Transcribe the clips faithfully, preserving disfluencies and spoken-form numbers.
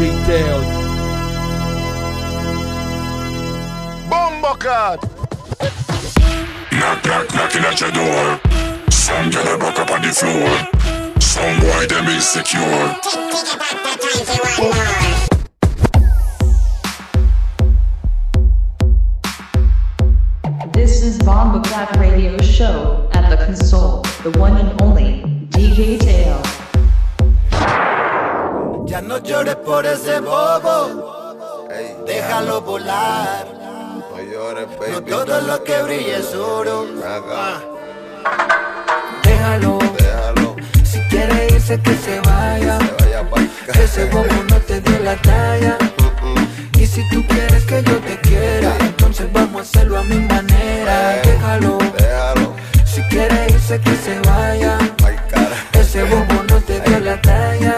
Teo. Bombo Cat. Knock, knock, knocking at your door. Some girl back up on the floor. Some boy them insecure. This is Bombo Cat Radio Show at the console, the one and only D J Teo. Ya no llores por ese bobo, hey, déjalo volar. No llores, baby. No todo lo que brilla es oro. Ah. Déjalo, Déjalo. si quiere irse que se vaya. Se vaya pa'l ca- Ese bobo no te dio la talla. Y si tú quieres que yo te quiera, entonces vamos a hacerlo a mi manera. Déjalo, Déjalo. si quiere irse que se vaya. Ay, cara. Ese bobo no te dio la talla.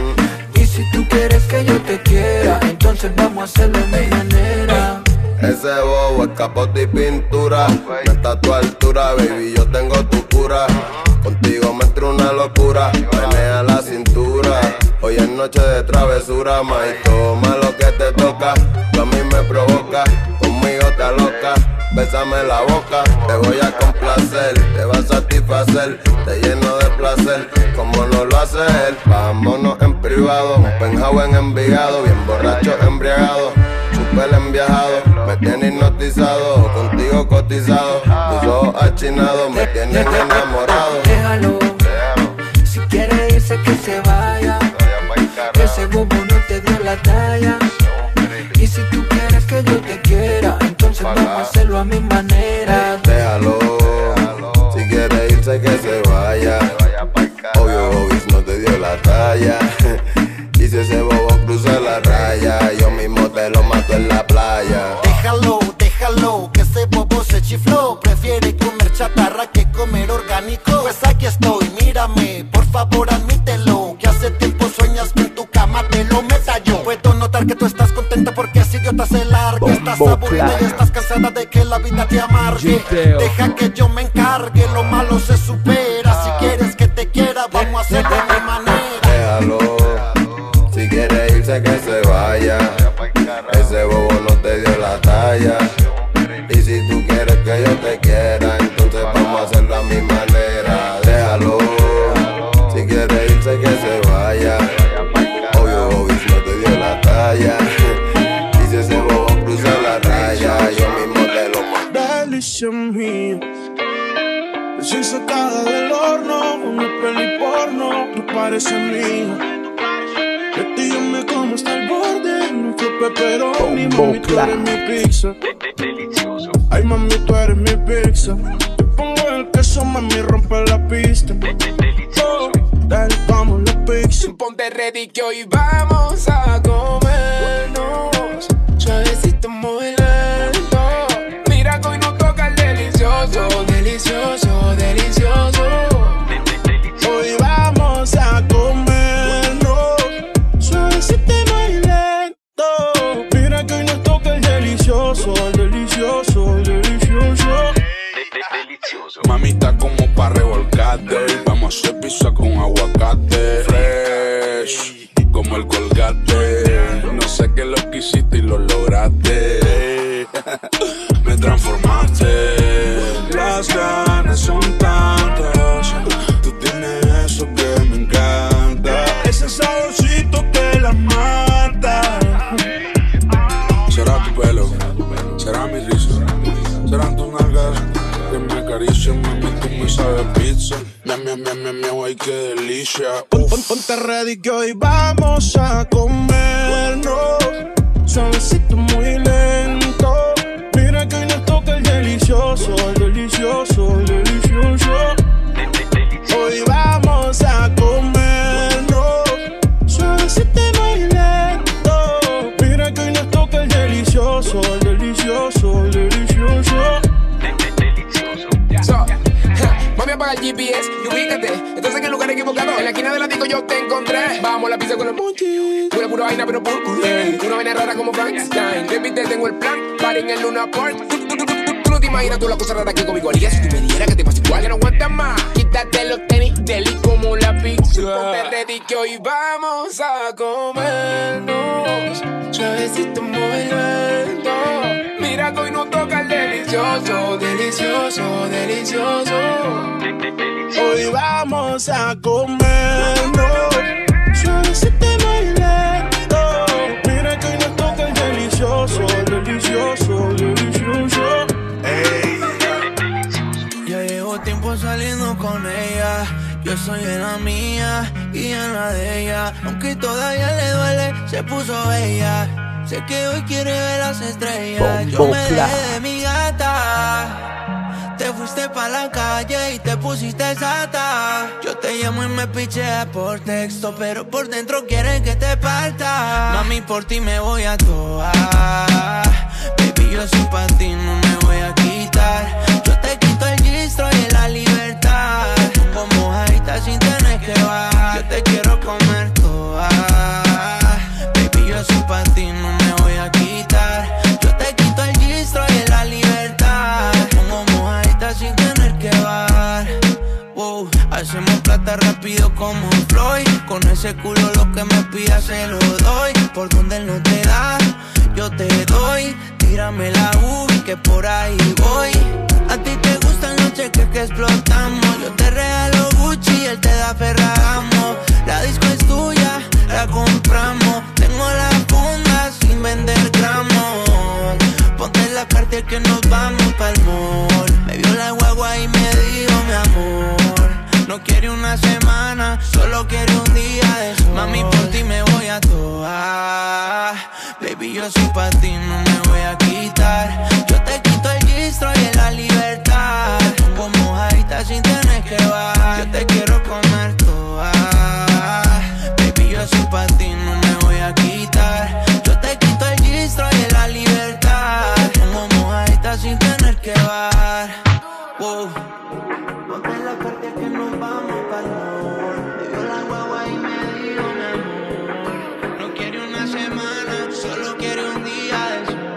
Y si tú quieres que yo te quiera, entonces vamos a hacerlo a mi manera. Ese bobo es capote y pintura. No está a tu altura, baby, yo tengo tu cura. Contigo me entra una locura. Menea la cintura. Hoy es noche de travesura, ma, y toma lo que te toca. Tú a mí me provoca, conmigo te aloca. Bésame la boca, te voy a complacer. Te va a satisfacer, te lleno de placer. Como no lo hace él, vámonos en privado. Un penthouse en Envigado, bien borracho, embriagado. Super enviajado, me tiene hipnotizado. Contigo cotizado, tus ojos achinados me tienen enamorado. Déjalo, si quiere irse que se vaya. Ese bobo no te dio la talla. Y si tú quieres que yo te quiera, entonces vamos a hacerlo a mi manera. Déjalo, si quiere irse que se vaya. Obvio, Bobis no te dio la talla. Y si ese bobo cruza la raya, yo mismo te lo mato en la playa. Déjalo, déjalo, que ese bobo se chifló. Prefiere comer chatarra que comer orgánico. Pues aquí estoy, mírame, por favor admítelo. Que hace tiempo sueñas que en tu cama te lo meta yo. Puedo notar que tú estás contenta porque ese idiota se larga. Estás aburrida y estás cansada de que la vida te amargue. Deja que yo me encargue, lo malo se supera. Si quieres que te quiera, vamos a hacerlo de mi manera. Déjalo, si quiere irse que se vaya. Ese bobo no te dio la talla. Y si tú quieres que yo te quiera, entonces vamos a hacerlo a mi manera. Déjalo, si quiere irse que se vaya. Obvio, Bobis no te dio la talla. Y si ese bobo cruza la raya, yo mismo te lo mato. Delicia mía, recién sacada del horno, una peli porno, tú pareces mía. De ti yo me como hasta el borde, no fue pepperoni, mami tú eres mi pizza. Ay mami tú eres mi pizza. Te pongo el queso, mami rompe la pista. Oh, dale vamos la pizza. Ponte ready que hoy vamos a comernos suavecito muy lento. Mira que hoy nos toca el delicioso, delicioso, delicioso. Hoy vamos a comernos suavecito muy lento. Mira que hoy nos toca el delicioso, el delicioso, el delicioso. Mamita como pa' revolcarte. Vamos a hacer pizza con aguacate. Fresh como el Colgate. No sé qué lo que hiciste y lo lograste. Me transformaste. Las ganas son tantas. Tú tienes eso que me encanta. Ese saborcito que la mata. Será tu pelo, será mi risa, serán tus nalgas que me acarician, mami, tú me sabes pizza. Miam, miam, miam, miam, miam, ay, qué delicia. Pon, pon, ponte ready que hoy vamos a comernos suavecito muy lento. Mira que hoy nos toca el delicioso, el delicioso, el delicioso. Hoy vamos a comernos suavecito muy lento. Mira que hoy nos toca el delicioso, el delicioso, el delicioso. So, mami apaga el G P S y ubícate. Entonces en el lugar equivocado, en la esquina de la disco yo te encontré. Vamos a la pizza con los monchis. Pura pura vaina pero por culé. Una vaina rara como Frankenstein. Baby te tengo el plan, para en el Luna Park. Tú no te imaginas tú la cosa rara que conmigo harías. Si tú me dieras que te pasa igual, que no aguantas más. Quítate los tenis, deli como la pizza. Ponte ready que hoy vamos a comernos delicioso, delicioso, delicioso. Hoy vamos a comernos suavecito y muy lento. Mira que hoy nos toca el delicioso, delicioso, delicioso. Ey. Ya llevo tiempo saliendo con ella. Yo soy en la mía y en la de ella. Aunque todavía le duele, se puso bella. Sé que hoy quiere ver las estrellas. Yo me dejé de mi gata. Te fuiste pa' la calle y te pusiste sata. Yo te llamo y me picheas por texto, pero por dentro quieren que te parta. Mami, por ti me voy a toa. Baby, yo soy pa' ti, no me voy a quitar. Yo te quito el gistro y la libertad. Como mojadita sin tener que bajar. Yo te quiero comer toa. Baby, yo soy pa' ti, no me voy a quitar. Yo te quito el gistro y la libertad. Como mojadita sin tener que bajar. Wow, hacemos plata rápido como Floyd. Con ese culo lo que me pidas se lo doy. Por donde él no te da, yo te doy. Tírame la U que por ahí voy. A ti te gustan los cheques que explotamos. Yo te regalo Gucci, él te da Ferragamo. La disco es tuya, la compramos. Tengo la funda sin vender gramos. Ponte la Cartier que nos vamos pa'l mall. Me vio la guagua y me dijo mi amor. No quiere una semana, solo quiere un día de sol. Mami, por ti me voy a toa. Baby, yo soy pa' ti, no me voy a quitar. Yo te quito el gistro y la libertad. Como mojadita sin tener que bajar. Yo te quiero comer toa. Baby, yo soy pa' ti, no me voy a quitar. Yo te quito el gistro y la libertad. Como mojadita sin tener que bajar. Wow. Ponte la parte que nos vamos pa'l mall. Me dio la guagua y me dijo mi amor. No quiere una semana, solo quiere un día de sol.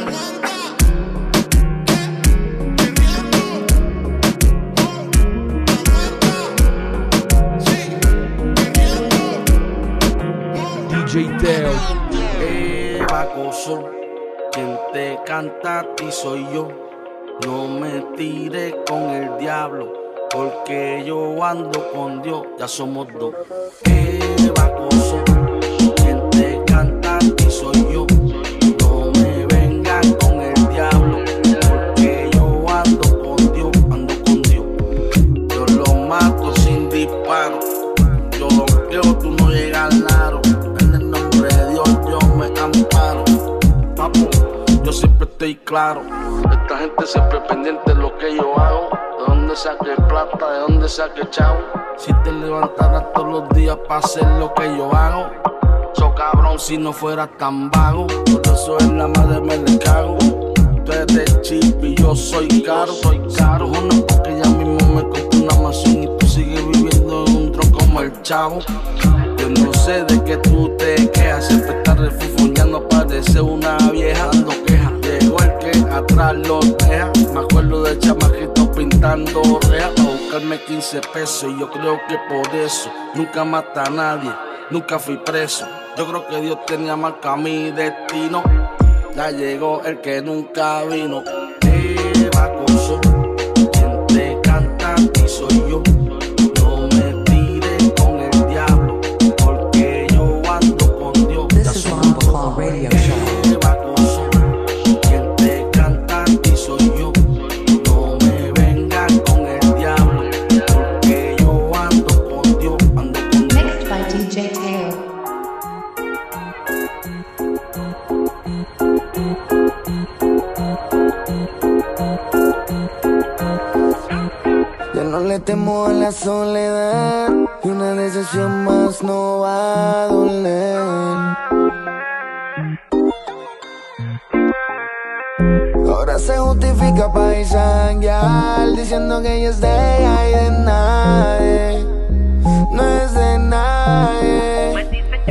D J Teo. Eh, Bacoso, quien te canta a ti soy yo. No me tires con el diablo, porque yo ando con Dios, ya somos dos. Eh, Bacoso, quien te canta a ti soy yo. No me vengas con el diablo, porque yo ando con Dios, ando con Dios. Yo lo mato sin disparo. Yo lo creo, tú no llegas al aro. En el nombre de Dios yo me amparo. Papo, yo siempre estoy claro. Esta gente siempre pendiente de lo que yo hago. De dónde saqué plata, de dónde saqué chavo. Si te levantaras todos los días para hacer lo que yo hago. So cabrón, si no fueras tan vago. Por eso en la madre me le cago. Tú eres de chip y yo soy caro. Soy caro, no, porque ya mismo me compré una mansión y tú sigues viviendo en un tron como el chavo. Yo no sé de qué tú te quejas. Siempre estás refufuñando, parece una vieja dando quejas. Llegó el que atrás lo deja. Me acuerdo de chamaquito pintando rejas para buscarme quince pesos. Y yo creo que por eso nunca mata a nadie, nunca fui preso. Yo creo que Dios tenía marca mi destino. Ya llegó el que nunca vino. Eh, Bacoso, quien te canta a ti soy yo. No me tires con el diablo, porque yo ando con Dios. This is Bomba Claw Radio Show. Eh, Bacoso, quien te canta a ti soy yo. No me vengas con el diablo, porque yo ando con Dios, ando con Dios. Mixed by D J Teo. Ya no le temo a la soledad, y una decisión más no va a doler. Ahora se justifica pa' isanguear, diciendo que ella es de ella y de nadie. No es de nadie.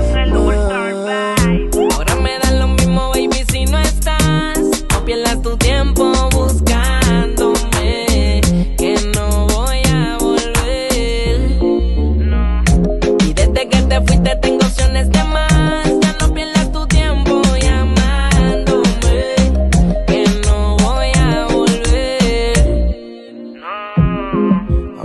No. Ahora me da lo mismo, baby, si no estás. No pierdas tu tiempo buscándome, que no voy a volver. No. Y desde que te fuiste tengo opciones de más. Ya no pierdas tu tiempo llamándome, que no voy a volver.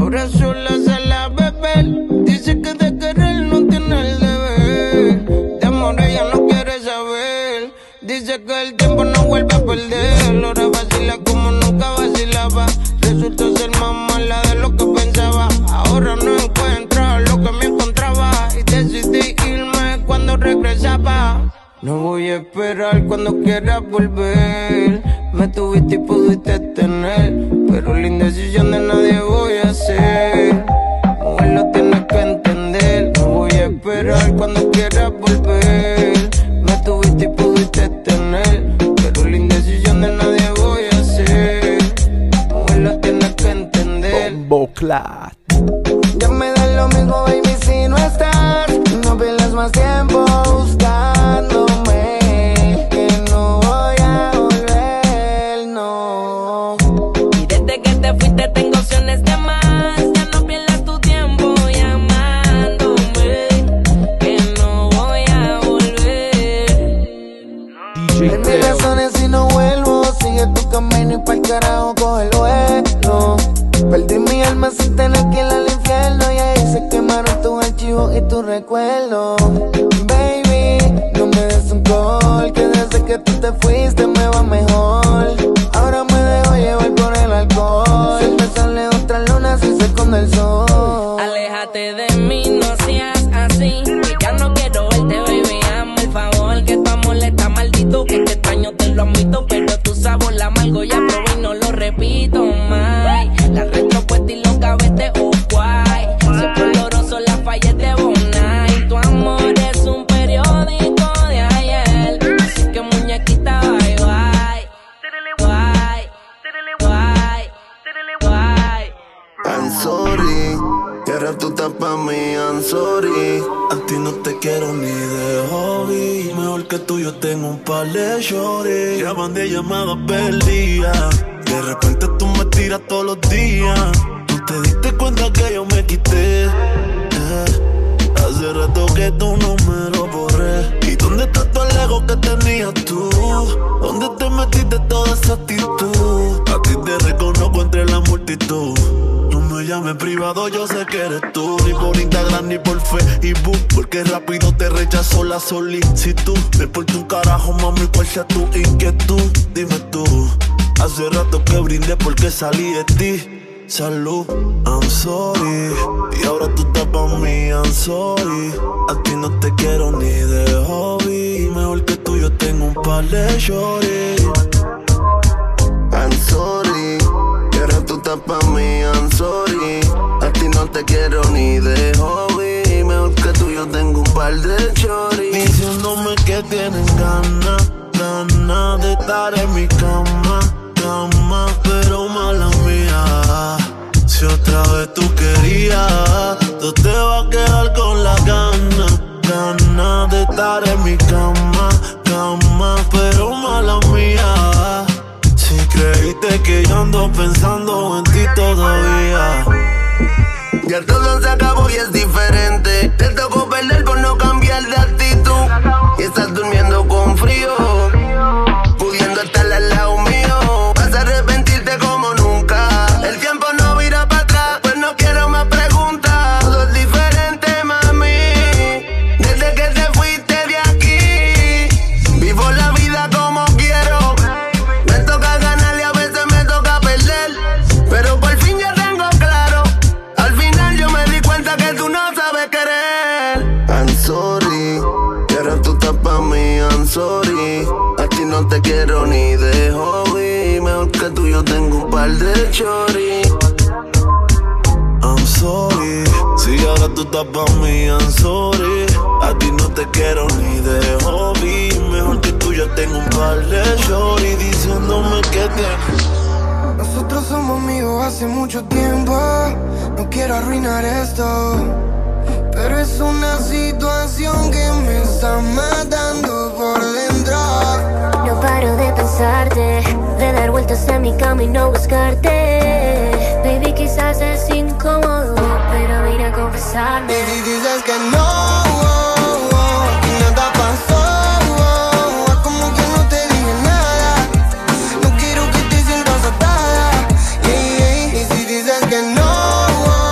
ahora sola sale a beber. Dice que de querer no tiene el deber. De amor ella no quiere saber. Dice que el tiempo no vuelve a perder. Ahora vacila como nunca vacilaba. Resultó ser más mala de lo que pensaba. Ahora no encuentro lo que me encontraba. Y decidí irme cuando regresaba. No voy a esperar cuando quieras volver. Me tuviste y pudiste tener, pero la indecisión de nadie voy a hacer. Mujer, lo tienes que entender. No voy a esperar cuando quieras volver. Me tuviste y pudiste tener, pero la indecisión de nadie voy a hacer. Mujer, lo tienes que entender. Bomboclat. Ya me da lo mismo, baby, si no estás. No pierdas más tiempo buscándome, que no voy a volver, no. Y desde que te fuiste tengo opciones de más. Ya no pierdas tu tiempo llamándome, que no voy a volver. En mis razones si no vuelvo, sigue tu camino y pa'l carajo coge el vuelo. Perdí mi alma sin tener que ir al infierno, y ahí se quemaron tus archivos y tus recuerdos. Baby, no me des un call, que desde que tú te fuiste me va mejor. Ahora me dejo llevar por el alcohol. Siempre sale otra luna si se esconde el sol. Aléjate de mí, no seas así, que ya no quiero verte, baby, hazme el favor. Que tu amor está maldito, que te extraño, te lo admito, pero tu sabor la amargo ya probé y no lo repito más. La retropuesta y los gavetes off-white, siempre oloroso las fallas de Bonai. Tu amor es un periódico de ayer, así que muñequita bye bye. Bye, bye, bye. I'm sorry, que ahora tú estás pa' mí, I'm sorry. A ti no te quiero ni de hobby. Mejor que tú yo tengo un par de shorties. Llaman de llamadas perdidas. De repente tú me tiras todos los días. No te diste cuenta que yo me quité. eh. Hace rato que tu número borré. ¿Y dónde está todo el ego que tenías tú? ¿Dónde te metiste toda esa actitud? A ti te reconozco entre la multitud. No me llames privado, yo sé que eres tú. Ni por Instagram ni por Facebook, porque rápido te rechazó la solicitud. Me importa un carajo, mami, cuál sea tu inquietud. Dime tú. Hace rato que brindé porque salí de ti. Salud, I'm sorry. Y ahora tú estás pa' mí, I'm sorry. A ti no te quiero ni de hobby. Mejor que tú yo tengo un par de shorties. I'm sorry, que ahora tú estás pa' mí, I'm sorry. A ti no te quiero ni de hobby. Mejor que tú yo tengo un par de shorties. Diciéndome que tienen ganas, ganas de estar en mi cama, cama, pero mala mía. Si otra vez tú querías, tú te vas a quedar con la gana, ganas de estar en mi cama, cama, pero mala mía. Si creíste que yo ando pensando en ti todavía. Ya todo se acabó y es diferente. Te tocó perder por no cambiar de actitud. Y estás durmiendo con frío, pudiendo estar al lado mío. Vas a arrepentirte como nunca. El tiempo no vira para atrás, pues no quiero más preguntas. Todo es diferente, mami. Desde que te fuiste de aquí, vivo la vida como quiero. Me toca ganar y a veces me toca perder, pero por fin ya tengo claro. Al final yo me di cuenta que tú no sabes querer. I'm sorry, que ahora tú estás pa' mí, I'm sorry. A ti no te quiero ni de hobby. Mejor que tú yo tengo un par de shorties. I'm sorry, si ahora tú estás pa' mí, I'm sorry. A ti no te quiero ni de hobby. Mejor que tú yo tengo un par de shorties diciéndome que te... Nosotros somos amigos hace mucho tiempo. No quiero arruinar esto, pero es una situación que me está matando por dentro. No paro de pensarte, de dar vueltas en mi cama y no buscarte. Baby, quizás es incómodo, pero vine a confesarme. Y si dices que no, oh, oh, y nada pasó, oh, oh, como que no te dije nada. No quiero que te sientas atada, yeah, yeah. Y si dices que no, oh,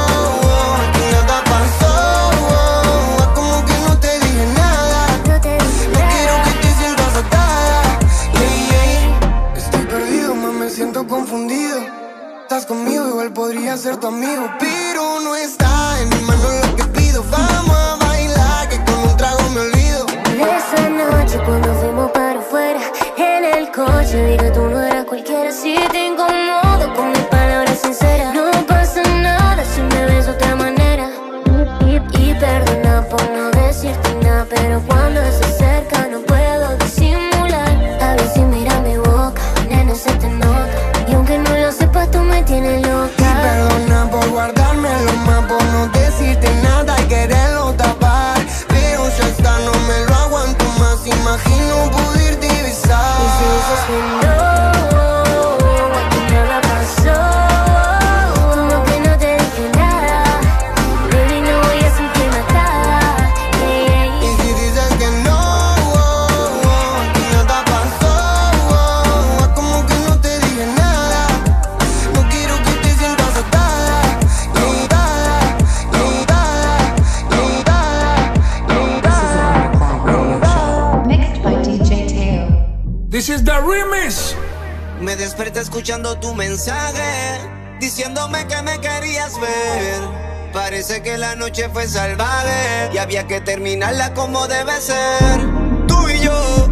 a ser tu amigo, pero no está en mi mano lo que pido. Vamos a bailar, que con un trago me olvido. Esa noche cuando fuimos para afuera, en el coche vi que tú no eras cualquiera. Si te incomodo con mis palabras sinceras, no pasa nada si me ves de otra manera. Y, y, y perdona por no decirte nada, pero cuando se acerca no puedo disimular. A ver si mira mi boca, nena, se te nota. Y aunque no lo sepas, tú me tienes loca. Y perdona por guardármelo más, por no decirte nada y quererlo tapar. Pero ya está, no me lo aguanto más. Imagino poder divisar. Y si dices que no, aquí nada pasó, como que no te dije nada, baby, no voy a sentirme atada. Yeah, yeah, yeah. Y si dices que no, aquí nada pasó, como que no te dije nada. No quiero que te sientas atada, atada, atada, atada. Mixed by D J Teo. This is the remix. Me desperté escuchando tu mensaje, diciéndome que me querías ver. Parece que la noche fue salvaje y había que terminarla como debe ser. Tú y yo,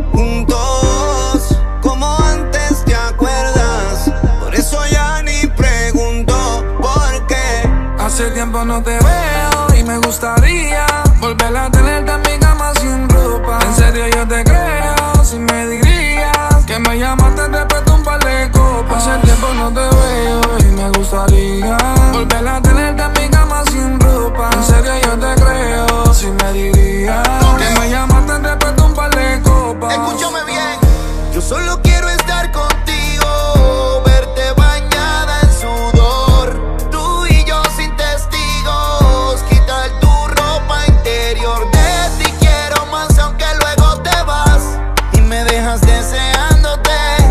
juntos, como antes, ¿te acuerdas? Por eso ya ni pregunto por qué. Hace tiempo no te veo y me gustaría volver a tenerte en mi cama sin ropa. En serio yo te creo, si me dirías que me llamaste después de un par de copas. Hace tiempo no te veo y me gustaría volver a tenerte en mi cama sin ropa. En serio yo te creo, si me dirías que me llamaste después de un par de copas. Escúchame bien, yo solo quiero estar contigo, verte bañada en sudor, tú y yo sin testigos, quitar tu ropa interior. De ti quiero más aunque luego te vas y me dejas deseándote.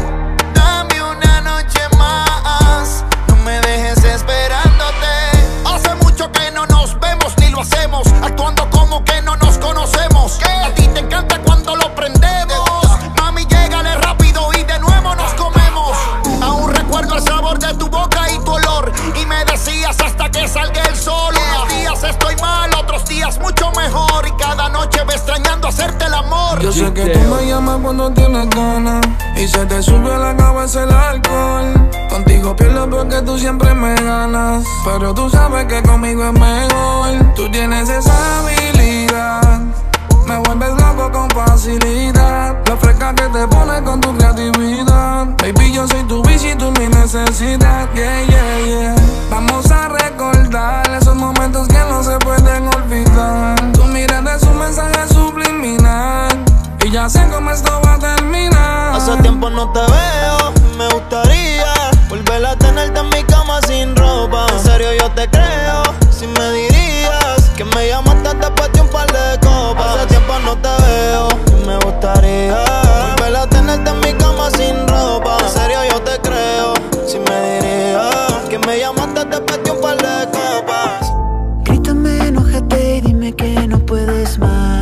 Dame una noche más, no me dejes esperándote. Hace mucho que no nos vemos ni lo hacemos, actuando como que no nos conocemos. A ti te encanta cuando lo prendemos, mami, llégale rápido y de nuevo nos comemos. Aún recuerdo el sabor de tu boca y tu olor, y me decías hasta que salga el sol. Unos días estoy mal, otros días mucho mejor, y cada noche ve extrañando hacerte el amor. Yo sé que tú me llamas cuando tienes ganas y se te sube a la cabeza el alcohol. Contigo pierdo porque tú siempre me ganas, pero tú sabes que conmigo es mejor. Tú tienes esa habilidad, me vuelves loco con facilidad. Lo fresca que te pones con tu creatividad. Baby, yo soy tu bici y tú mi necesidad. Yeah, yeah, yeah. Vamos a recordar esos momentos que no se pueden olvidar. Tú miras de su mensaje subliminal y ya sé cómo esto va a terminar. Hace tiempo no te veo, me gustaría volver a tenerte en mi cama sin ropa. En serio yo te creo, si me dirías que me llamaste después de un par de copas. Hace tiempo no te veo, me gustaría volver a tenerte en mi cama sin ropa. En serio yo te creo, si me dirías que me llamaste después de un par de copas. Grítame, enójate y dime que no puedes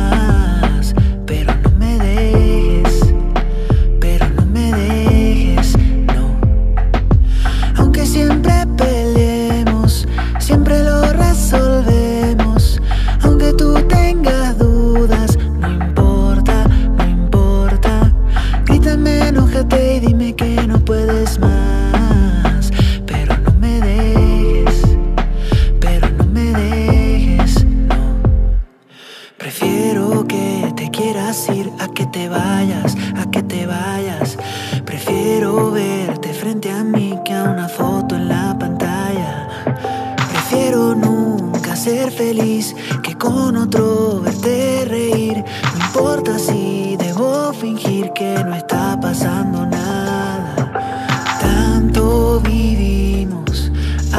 más, pero no me dejes, pero no me dejes, no. Aunque siempre peleemos, siempre lo resolvemos. Aunque tú tengas dudas, no importa, no importa. Grítame, enójate y dime que no puedes más, pero no me dejes, pero no me dejes, no. Prefiero que te quieras ir a que te vayas, a que te vayas. Prefiero verte frente a mí que a una foto en la pantalla. Prefiero nunca ser feliz que con otro verte reír. No importa si debo fingir que no está pasando nada. Tanto vivimos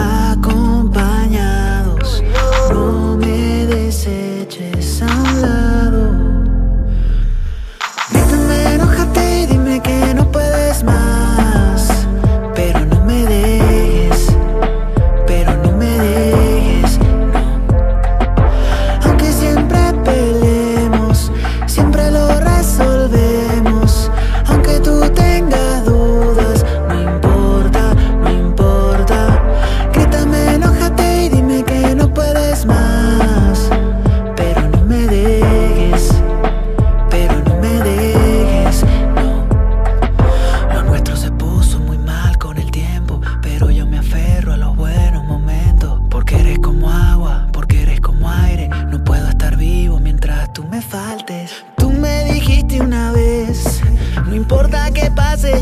acompañados, no me deseches a un lado. Grítame, enójate y dime que no puedes más, pero no me dejes, pero no me dejes, no. Aunque siempre peleemos, siempre lo resolvemos. Aunque tú tengas dudas,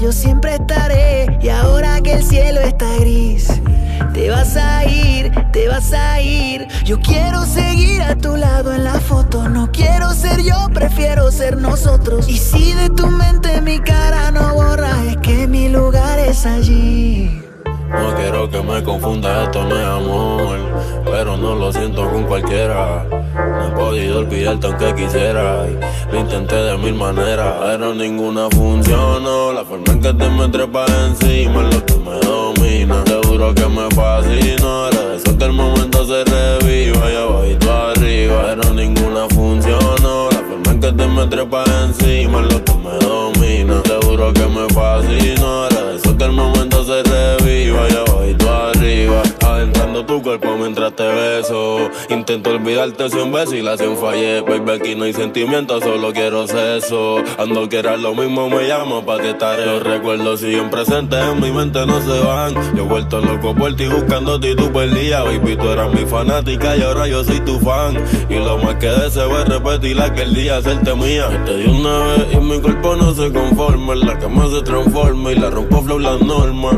yo siempre estaré. Y ahora que el cielo está gris, te vas a ir, te vas a ir. Yo quiero seguir a tu lado en la foto. No quiero ser yo, prefiero ser nosotros. Y si de tu mente mi cara no borra, es que mi lugar es allí. No quiero que me confunda, esto no es amor, pero no lo siento con cualquiera. No he podido olvidarte aunque quisiera, y lo intenté de mil maneras, pero ninguna funcionó. La forma en que te me trepas encima es lo que me domina. Seguro que me fascino, era de eso que el momento se reviva, y abajito arriba, pero ninguna funcionó. La forma en que te me trepas encima es lo que me domina. Seguro que me fascino, era de eso que el momento se reviva, y abajito arriba, adentrando tu cuerpo mientras te beso. Intento olvidarte cien veces y la cien fallé. Baby, aquí no hay sentimientos, solo quiero sexo. Ando quieras lo mismo, me llamo pa' que estaré. Los recuerdos siguen presentes en mi mente, no se van. Yo he vuelto loco por ti buscándote y tú perdías. Baby, tú eras mi fanática y ahora yo soy tu fan. Y lo más que deseo es repetir aquel día, hacerte mía. Te di una vez y mi cuerpo no se conforma. En la cama se transforma y la rompo flow la norma.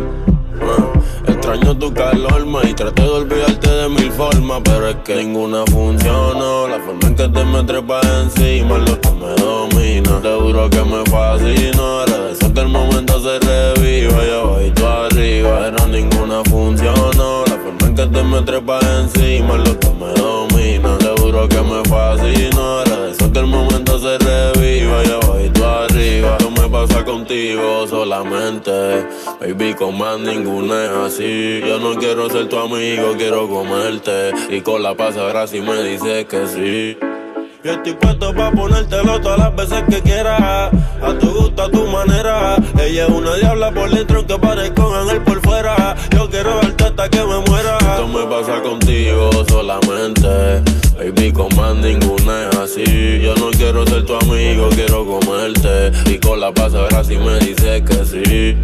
Extraño tu calor, ma, y traté de olvidarte de mil formas, pero es que ninguna funcionó. La forma en que te me trepas encima es lo que me domina. Seguro que me fascino, era de eso que el momento se reviva, y abajito arriba, pero ninguna funcionó. La forma en que te me trepas encima es lo que me domina. Seguro que me fascino, era de eso que el momento se reviva, y abajito arriba. Esto me pasa contigo solamente, baby, con más ninguna es así. Yo no quiero ser tu amigo, quiero comerte, y con la pasará si me dices que sí. Yo estoy puesto pa' ponértelo todas las veces que quieras, a tu gusto, a tu manera. Ella es una diabla por dentro aunque parezca un ángel por fuera. Yo quiero verte hasta que me muera. Esto me pasa contigo solamente, baby, con más ninguna es así. Yo no quiero ser tu amigo, quiero comerte, y con la pasará si me dices que sí.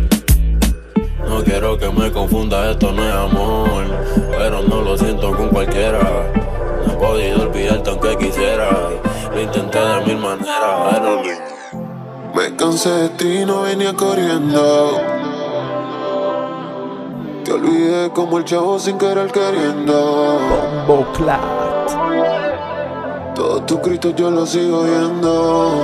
No quiero que me confunda, esto no es amor, pero no lo siento con cualquiera. No he podido olvidarte aunque quisiera, lo intenté de mil maneras, pero me cansé de ti, no venía corriendo. Te olvidé como el chavo sin querer queriendo. Bombo Clat. Todos tus gritos yo los sigo oyendo.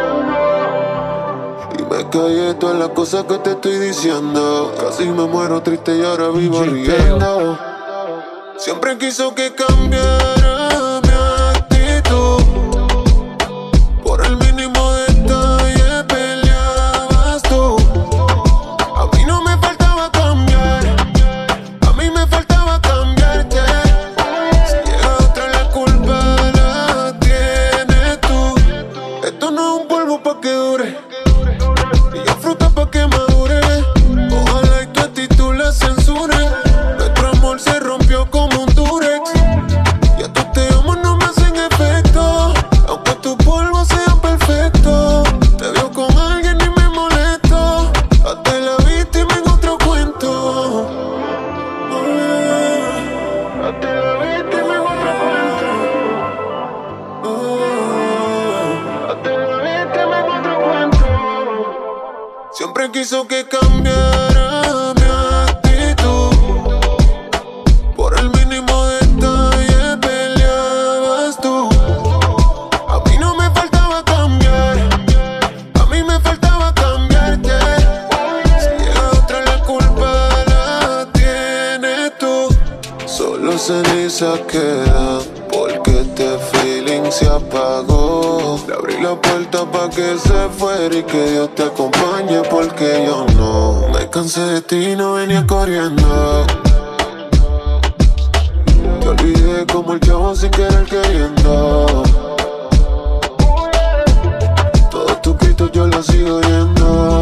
Me callé todas las cosas que te estoy diciendo. Casi me muero triste y ahora vivo riendo. Siempre quiso que cambiara mi actitud. Por el mínimo detalle peleabas tú. A mí no me faltaba cambiar, a mí me faltaba cambiarte. Si llega otra la culpa la tienes tú. Esto no es un polvo pa' que dure, fruta pa' que madure. Ojalá y tu actitud la censure. Nuestro amor se rompió como un durex. Ya tú te amo, no me hacen efecto, aunque tus polvos sean perfectos. Te veo con alguien y me molesto. Hazte la víctima en otro cuento. Oh, hazte la víctima en otro cuento. Oh, hazte la víctima en otro cuento. Siempre quiso que cambiara mi actitud. Por el mínimo detalle peleabas tú. A mí no me faltaba cambiar, a mí me faltaba cambiarte. Si llega otra la culpa la tienes tú. Solo ceniza queda porque este feeling se apagó. Le abrí la puerta pa' que se fuera y que Dios te acompañe, porque yo no. Me cansé de ti, no venía corriendo. Te olvidé como el chavo sin querer queriendo. Todos tus gritos yo los sigo oyendo.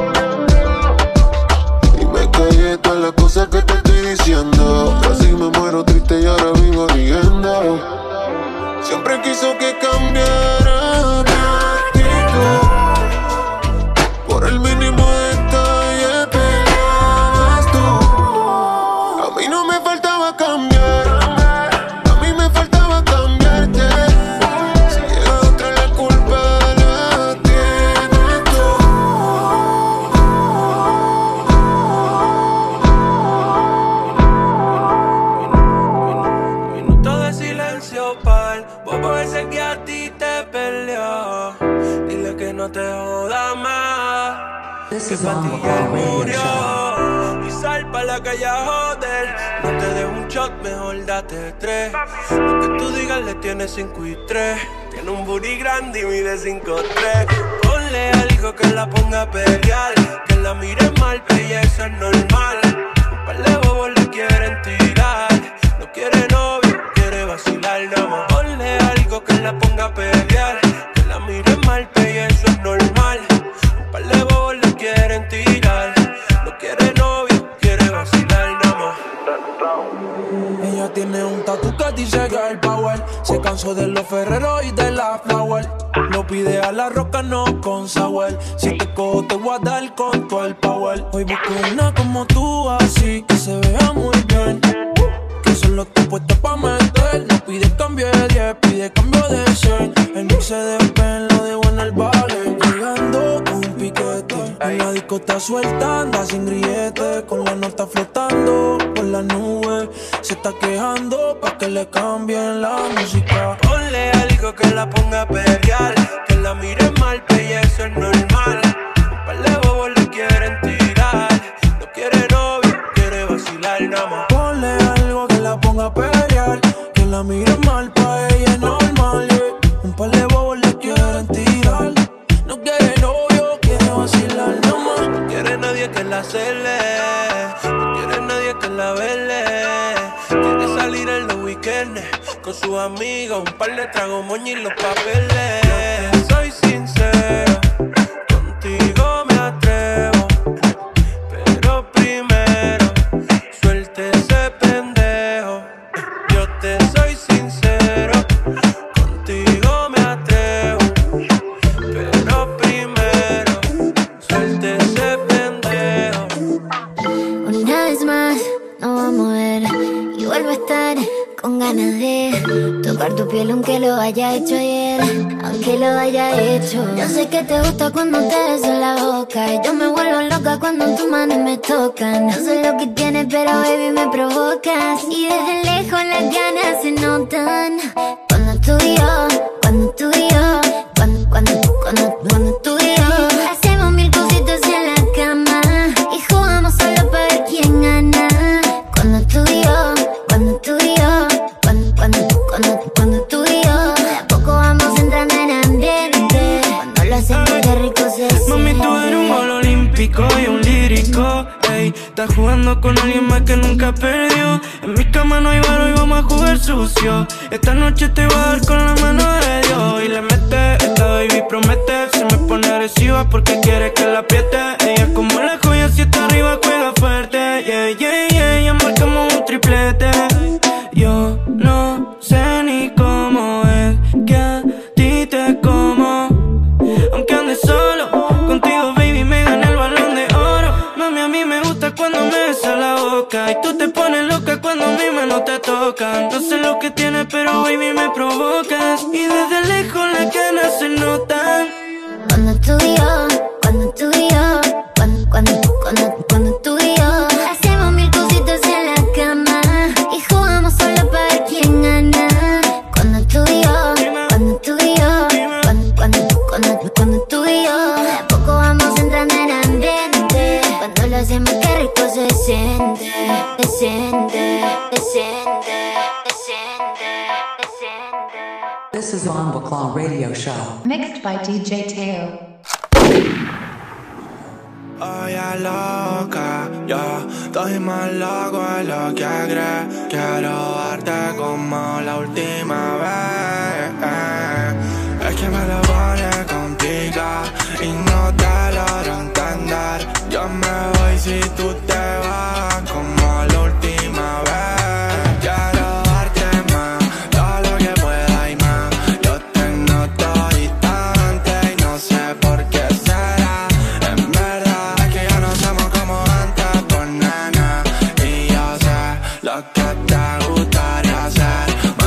Y me callé todas las cosas que te estoy diciendo. Casi me muero triste y ahora vivo riendo. Siempre quiso que cambiara mi actitud. Por el mínimo detalle peleabas tú. A mí no me faltaba cambiar, a mí me faltaba cambiarte. Si llega otra la culpa la tienes tú. no te jodas más. This Que is pa' on ti the ya radio murió. show. Y sal pa' la calle a joder. No te dejo un shot, mejor date tres. Lo que tú digas le tienes cinco y tres. Tiene un booty grande y mide cinco tres. Ponle algo que la ponga a pelear. Que la mire mal, que ya eso es normal. Un par de bobos le quieren tirar. No quiere novio, quiere vacilar nada más. Ponle algo que la ponga a pelear. Que la mire mal, que ya eso es normal. Un par de bobos le quieren tirar. No quiere novio, quiere vacilar nada más. Ella tiene un tatu que dice girl power. Se cansó de los ferreros y de la flower. Lo pide a la roca, no con sour. Si te cojo te voy a dar con todo el power. Hoy busco una como tú, así que se vea muy bien. Que solo está puesta pa' meter. No pide cambio de diez, pide cambio de cien. El mix se despela, lo dejo en el vale. Llegando con un piquete. En la disco está suelta, anda sin grillete. Con la nota flotando por la nube. Se está quejando pa' que le cambien la música. Ponle algo que la ponga a pelear. Que la mire mal, que ya eso es normal. Un par de bobos le quieren tirar. No quiere novio, quiere vacilar nada más. Ponle algo que la ponga a pelear. Que la mire mal, pa' ella es normal, yeah. Un par de bobos le quieren tirar. No quiere novio, quiere vacilar nada más. No quiere nadie que la cele. No quiere nadie que la vele. Quiere salir en los weekends con sus amigos, un par de tragos, moño y los papeles. Yo te soy sincero, contigo me atrevo. Pero primero, suelte ese pendejo. Yo te soy sincero, contigo me atrevo. Pero primero, suelte ese pendejo. Una vez más, nos vamos a ver y vuelvo a estar con ganas de tocar tu piel aunque lo haya hecho ayer, aunque lo haya hecho. Yo sé que te gusta cuando te beso en la boca y yo me vuelvo loca cuando tus manos me tocan. No sé lo que tienes pero baby me provocas y desde lejos las ganas se notan. Cuando tú y yo, cuando tú y yo, cuando, cuando, cuando, cuando tú y yo hacemos mil cositas en la cama y jugamos solo para ver quién gana. Cuando tú y yo, cuando tú y yo, cuando, cuando, cuando, cuando tú y yo, de a poco vamos entrando en ambiente. Cuando lo hacemos qué rico se siente. Mami, tú eres un gol olímpico y un lírico, ey. Estás jugando con alguien más que nunca perdió. En mi cama no hay varo y vamos a jugar sucio. Esta noche te voy a dar con la mano de Dios. Y le mete, esta baby promete. Se me pone agresiva porque quiere que la apriete. Ella como la joya, si está arriba juega fuerte. Yeah, yeah, yeah, ya marcamos un triplete. Yo no sé ni cómo es que a ti te como. Aunque andes solo, contigo baby me gana el balón de oro. Mami, a mí me gusta cuando me besa la boca y tú te pones loca cuando mis manos te tocan. No sé lo que tienes pero baby me provocas y desde lejos las ganas se notan. Cuando tú y yo, cuando tú y yo, cuando, cuando, cuando, cuando tú y yo hacemos mil cositas en la cama y jugamos solo para ver quién gana. Cuando tú y yo, cuando tú y yo, cuando, cuando, cuando, cuando tú y yo, de a poco vamos entrando en ambiente. Cuando lo hacemos qué rico se siente, se siente, se siente, se siente, se siente. This is Bomba Claw Radio Show. Mixed by D J Teo. Oye loca, yo estoy más loco de lo que crees. Quiero darte como la última vez. Es que me lo pone complicado y no te logro entender. Yo me voy si tú te vas como la última vez. Quiero darte más, todo lo que pueda y más. Yo tengo todo distante y no sé por qué será. En verdad es que ya no somos como antes, por nena. Y yo sé lo que te gustaría hacer.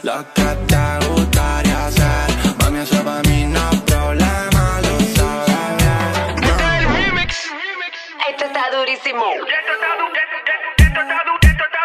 lo que te gustaría hacer. Mami, eso para mí no es problema, lo sabes bien. Este es el remix. Esto está durísimo. Esto está durísimo.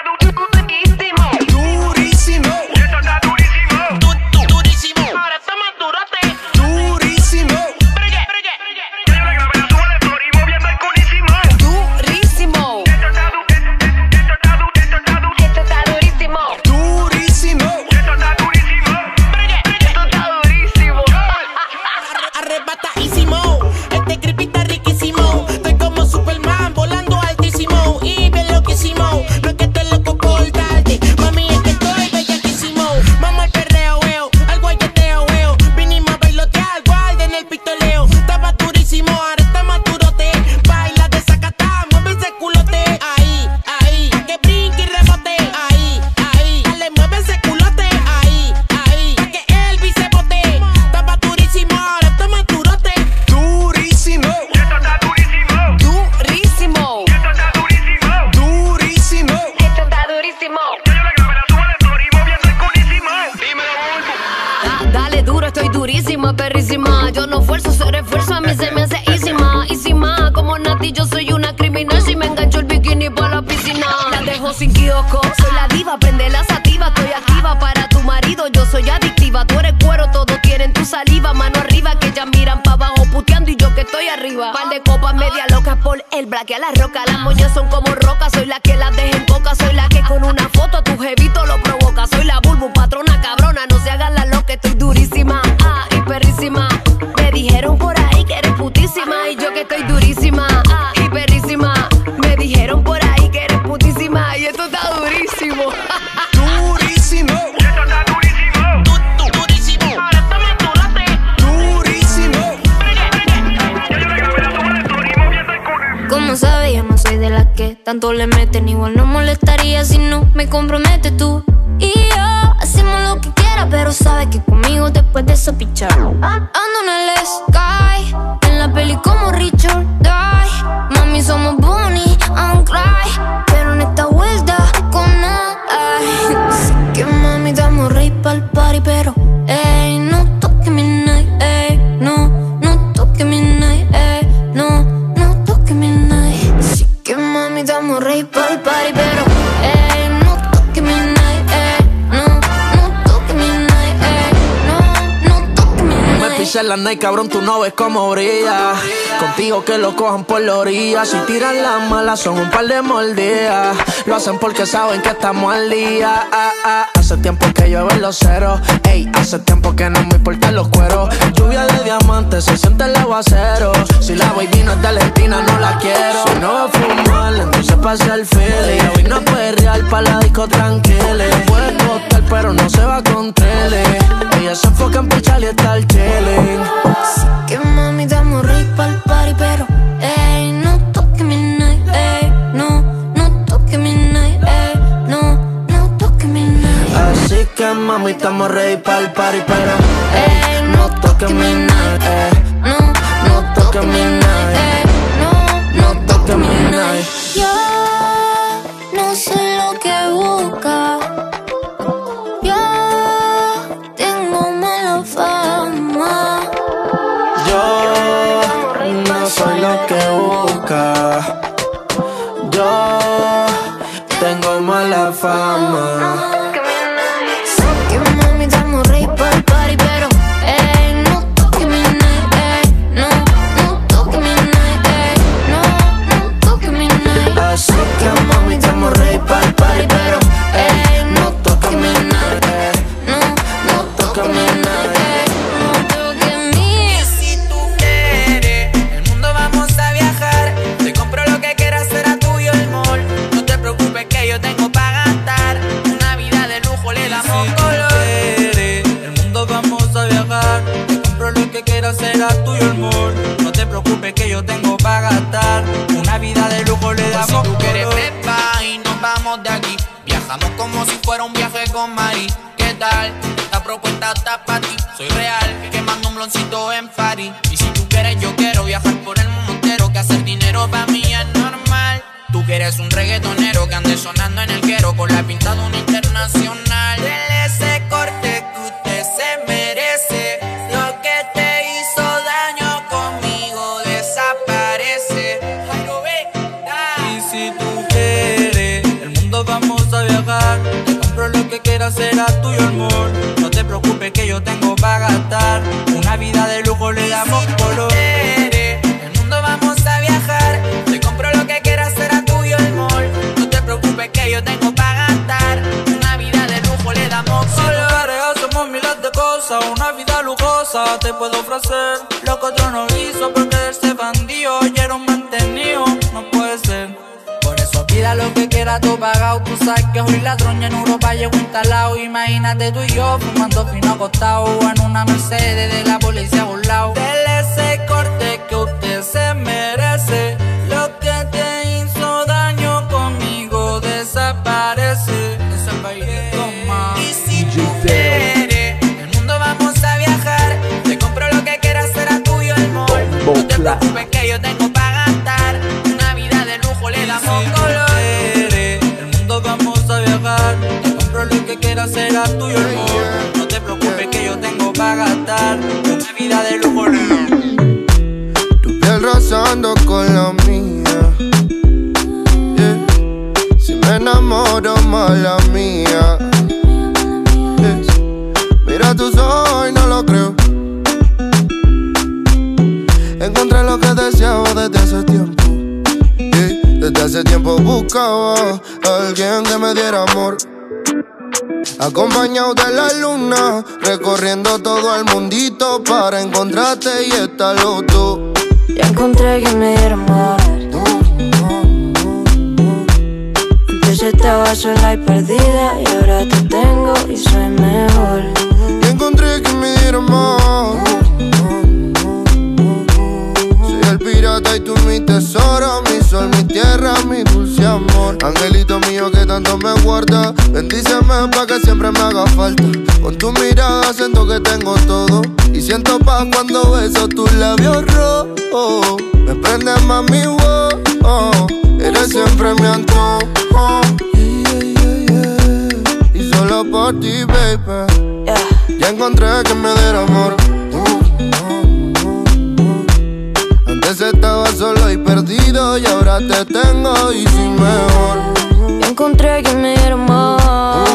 Durísimo. Esto está durísimo. Du- du- durísimo. Ahora está más durote. Durísimo. Bregue, bregue, bregue. Yo le grabé la suba de Flori moviendo el cunísimo. Durísimo. Esto está du- esto está du- esto está du- Esto está durísimo. Durísimo. Esto está durísimo. Bregue, bregue. Esto está durísimo. Arrebatadísimo, este creepy está riquísimo. Estoy como Superman volando altísimo y bien loquísimo. No es que esté loco por tarde, mami, es que estoy bellaquísimo. Vamos al perreo, veo, al guayeteo, veo. Vinimos a bailotear, guarden el pistoleo. Estaba durísimo, ahora está más durote. Baila de sacatá, mueve ese culote. Ahí, ahí, a que brinque y rebote. Ahí, ahí, dale, mueve ese culote. Ahí, ahí, a que Elvis se bote. Estaba durísimo, ahora está más durote. Durísimo. Esto está durísimo. Durísimo. Esto está durísimo. Durísimo. Esto está durísimo. Yo le grabé la suba de Flori moviendo el cunísimo. Dímelo, Bulbo. Da- Dale duro, estoy durísima, perrísima. Yo no fuerzo, ser esfuerzo, a mí se me hace easísima, easíma. Como Nati, yo soy una criminal. Si me engancho el bikini pa' la piscina, la dejo sin kiosco. Soy la diva, prende la sativa. Estoy activa para tu marido, yo soy adictiva. Tú eres cuero, todos quieren tu saliva. Mano arriba, que ya miran pa' abajo puteando y yo que estoy arriba. Par de copas media locas por el blaque a la roca. Las moñas son como rocas, soy la que las deja en coca. Soy la que con una foto a tu jevito lo provoca. Soy la bulbu, patrona cabrona, no se hagan la loca. Estoy durísima, ah, y perrísima. Me dijeron por ahí que eres putísima y yo que estoy durísima, ah, y perrísima. Me dijeron por ahí que eres putísima y esto está durísimo. Durísimo. Esto está durísimo. Du- du- durísimo. Ahora está más durote. Durísimo. Bregue, bregue. Yo le grabé la suba de Flori moviendo el cunísimo. Como sabes, yo no soy de las que tanto le meten. Igual no molestaría si no me comprometes tú y yo. Hacemos lo que quieras, pero sabes que conmigo después de eso pichar. Ando en el sky, en la peli como Richard Die. Mami, somos Bonnie and Clyde, pero en esta vuelta con ay. Así que mami, damos rey pa'l party, pero ey, no toque mi night, ey, no, no toque mi night, ey, no, no toque mi night. Así que mami, damos rey pa'l party, pero ey, no toque mi night, ey, no, no toque mi night, ey, no, no toque mi Me night. pisé la night, cabrón, tú no ves cómo brilla. Contigo que lo cojan por la orilla. Si tiran las malas son un par de mordidas. Lo hacen porque saben que estamos al día. Ah, ah. Hace tiempo que llueven los ceros. Ey, hace tiempo que no me importan los cueros. Lluvia de diamantes, se siente el aguacero. Si la baby no es de Argentina, no la quiero. Si no va a fumar, entonces pasa el feeling. Ella vino a perrear pa' la disco tranquila. Puede costar, pero no se va con tele. Ella se enfoca en pichar y estar chilling. Así que mami, damos rey pa'l party, pero ey, no toque mi night, ey, no, no toque mi night, ey, no, no toque mi night. Así que mami, estamos ready pa'l party, pero ey, no toques mi night, ey, No, no toques mi night, ey, no, no toques mi night. yo no soy lo que busca. Yo tengo mala fama. Yo no soy lo que busca. Yo tengo mala fama. Sé que mami, damos rey pa'l party, pero ey, no toque mi night, ey, no, no toque mi night, ey, no, no toque mi night. Así que mami, estamos ready pa'l party, pero ey, no toques mi night, ey, No, no toques mi night. no toque mi. Y si tú quieres, el mundo vamos a viajar. Te compro lo que quieras, será tuyo el mall. No te preocupes que yo tengo pa' gastar. Una vida de lujo le damos color. El mundo vamos a viajar. Te compro lo que quieras, será tuyo el mall. No te preocupes que yo tengo pa' gastar. Una vida de lujo le damos color. Si tú quieres prepa y nos vamos de aquí. Viajamos como si fuera un viaje con Mari. ¿Qué tal? Esta propuesta está pa' ti. Soy real, quemando un bloncito en París. Y si tú quieres, yo quiero viajar por el mundo entero. Que hacer dinero pa' mí es normal. Tú quieres un reggaetonero que ande sonando en el quero con la pinta de un internacional. Dele ese corte quiera será tuyo, amor. No te preocupes que yo tengo para gastar. Una vida de lujo le damos color. El mundo vamos a viajar. Te compro lo que quieras será tuyo, amor. No te preocupes que yo tengo para gastar. Una vida de lujo le damos color. Si tú quieres hacemos miles de cosas. Una vida lujosa te puedo ofrecer lo que otro no hizo, porque de ese bandido ya era un mantenido. No puede ser. Por eso pida lo que quieras, tú pagado. Tú sabes que hoy la troña en Europa llegó instalado. Imagínate tú y yo fumando fino acostado en una Mercedes de la policía burlao. Dele ese corte que usted se merece. Lo que te hizo daño conmigo desaparece. Desaparece, toma. Y si tú quieres, el mundo vamos a viajar. Te compro lo que quieras, será tuyo, amor. No te preocupes que yo tengo para gastar. Una vida de lujo le damos color. El mundo vamos a viajar. Te compro lo que quieras, será tuyo, amor. No te preocupes que yo tengo para gastar. Una vida de lujo le damos. Tu piel rozando con la mía, yeah. Si me enamoro, mala mía, yeah. Mira tus ojos y no lo creo. Encontré lo que deseaba desde hace tiempo, yeah. Desde hace tiempo buscaba a alguien que me diera amor. Acompañado de la luna, recorriendo todo el mundito para encontrarte y estar loco. Ya encontré que me diera amor. Antes estaba sola y perdida y ahora te tengo y soy mejor. Ya encontré que me diera amor. Soy el pirata y tú mi tesoro, mi sol, mi tierra, mi dulce amor. Angelito mío que tanto me guarda, bendíceme pa' que siempre me haga falta. Con tu mirada siento que tengo todo y siento paz cuando beso tus labios rojos. Me prende más mi voz, oh. Eres siempre mi antojo, yeah, yeah, yeah. Y solo por ti, baby, yeah. Ya encontré que me diera amor. Antes estaba solo y perdido y ahora te tengo y soy mejor. Ya encontré que me diera amor.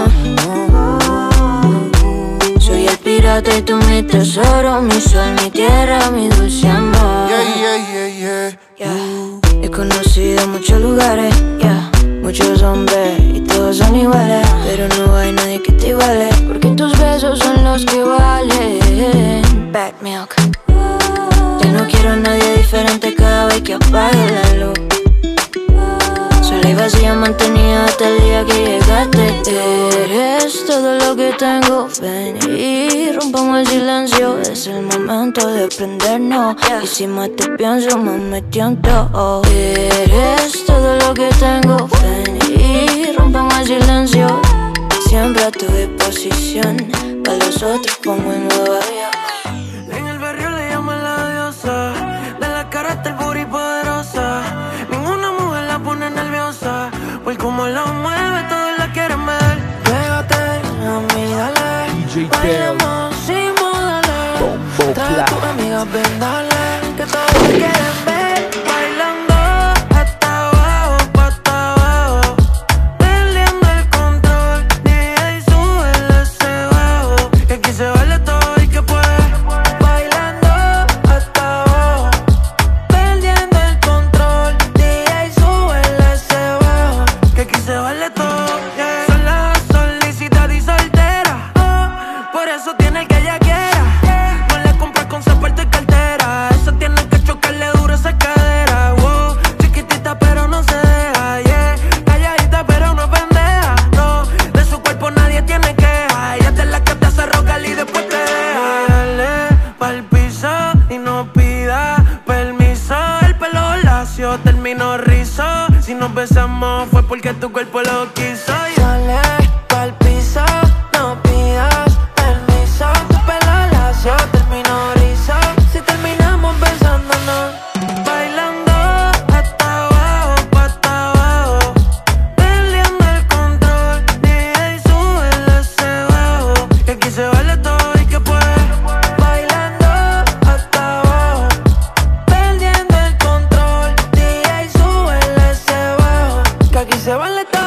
Soy el pirata y tú mi tesoro, mi sol, mi tierra, mi dulce amor. Yeah, yeah, yeah, yeah. Yeah. He conocido muchos lugares, yeah. Muchos hombres y todos son iguales, pero no hay nadie que te iguale, porque tus besos son los que valen. Bad milk. Ya no quiero a nadie diferente cada vez que apague la luz. Sola y vacía mantenida hasta el día que llegaste. Eres todo lo que tengo, ven y rompamos el silencio. Es el momento de prendernos, y si más te pienso más me tiento. Eres todo lo que tengo, ven y rompamos el silencio. Siempre a tu disposición, para los otros como en Nueva York. En el barrio le llaman la diosa, de la cara hasta el booty poderosa. Ninguna mujer la pone nerviosa, por cómo lo mueve todos la quieren ver. Pégate a mí, dale, bailamos sin modales. Trae a tus amigas, ven, dale, que todos te quieren ver. Bailando hasta abajo, pa' hasta abajo, perdiendo el control. D J sube ese bajo, que aquí se baila todo y que puede. Bailando hasta abajo, perdiendo el control. D J sube ese bajo, que aquí se baila todo, yeah. Sola, solicitada y soltera, oh, por eso tiene el que ella quiera. No le compras con zapato y cartera, eso tiene que chocarle duro esa cadera. Wow, chiquitita pero no se deja, yeah. Calladita pero no pendeja, no. De su cuerpo nadie tiene queja. Ella es la que te hace rogar y después te deja. Dale pa'l piso y no pida permiso. El pelo lacio terminó rizo. Si nos besamos fue porque tu cuerpo lo quiso. Dale pa'l piso, no pidas permiso. Tu pelo lacio terminó rizo. Si terminamos besándonos, bailando hasta abajo, pa' hasta abajo, perdiendo el control. D J sube ese bajo, que aquí se baila todo y que puede. Bailando hasta abajo, perdiendo el control. D J sube ese bajo, que aquí se baila todo.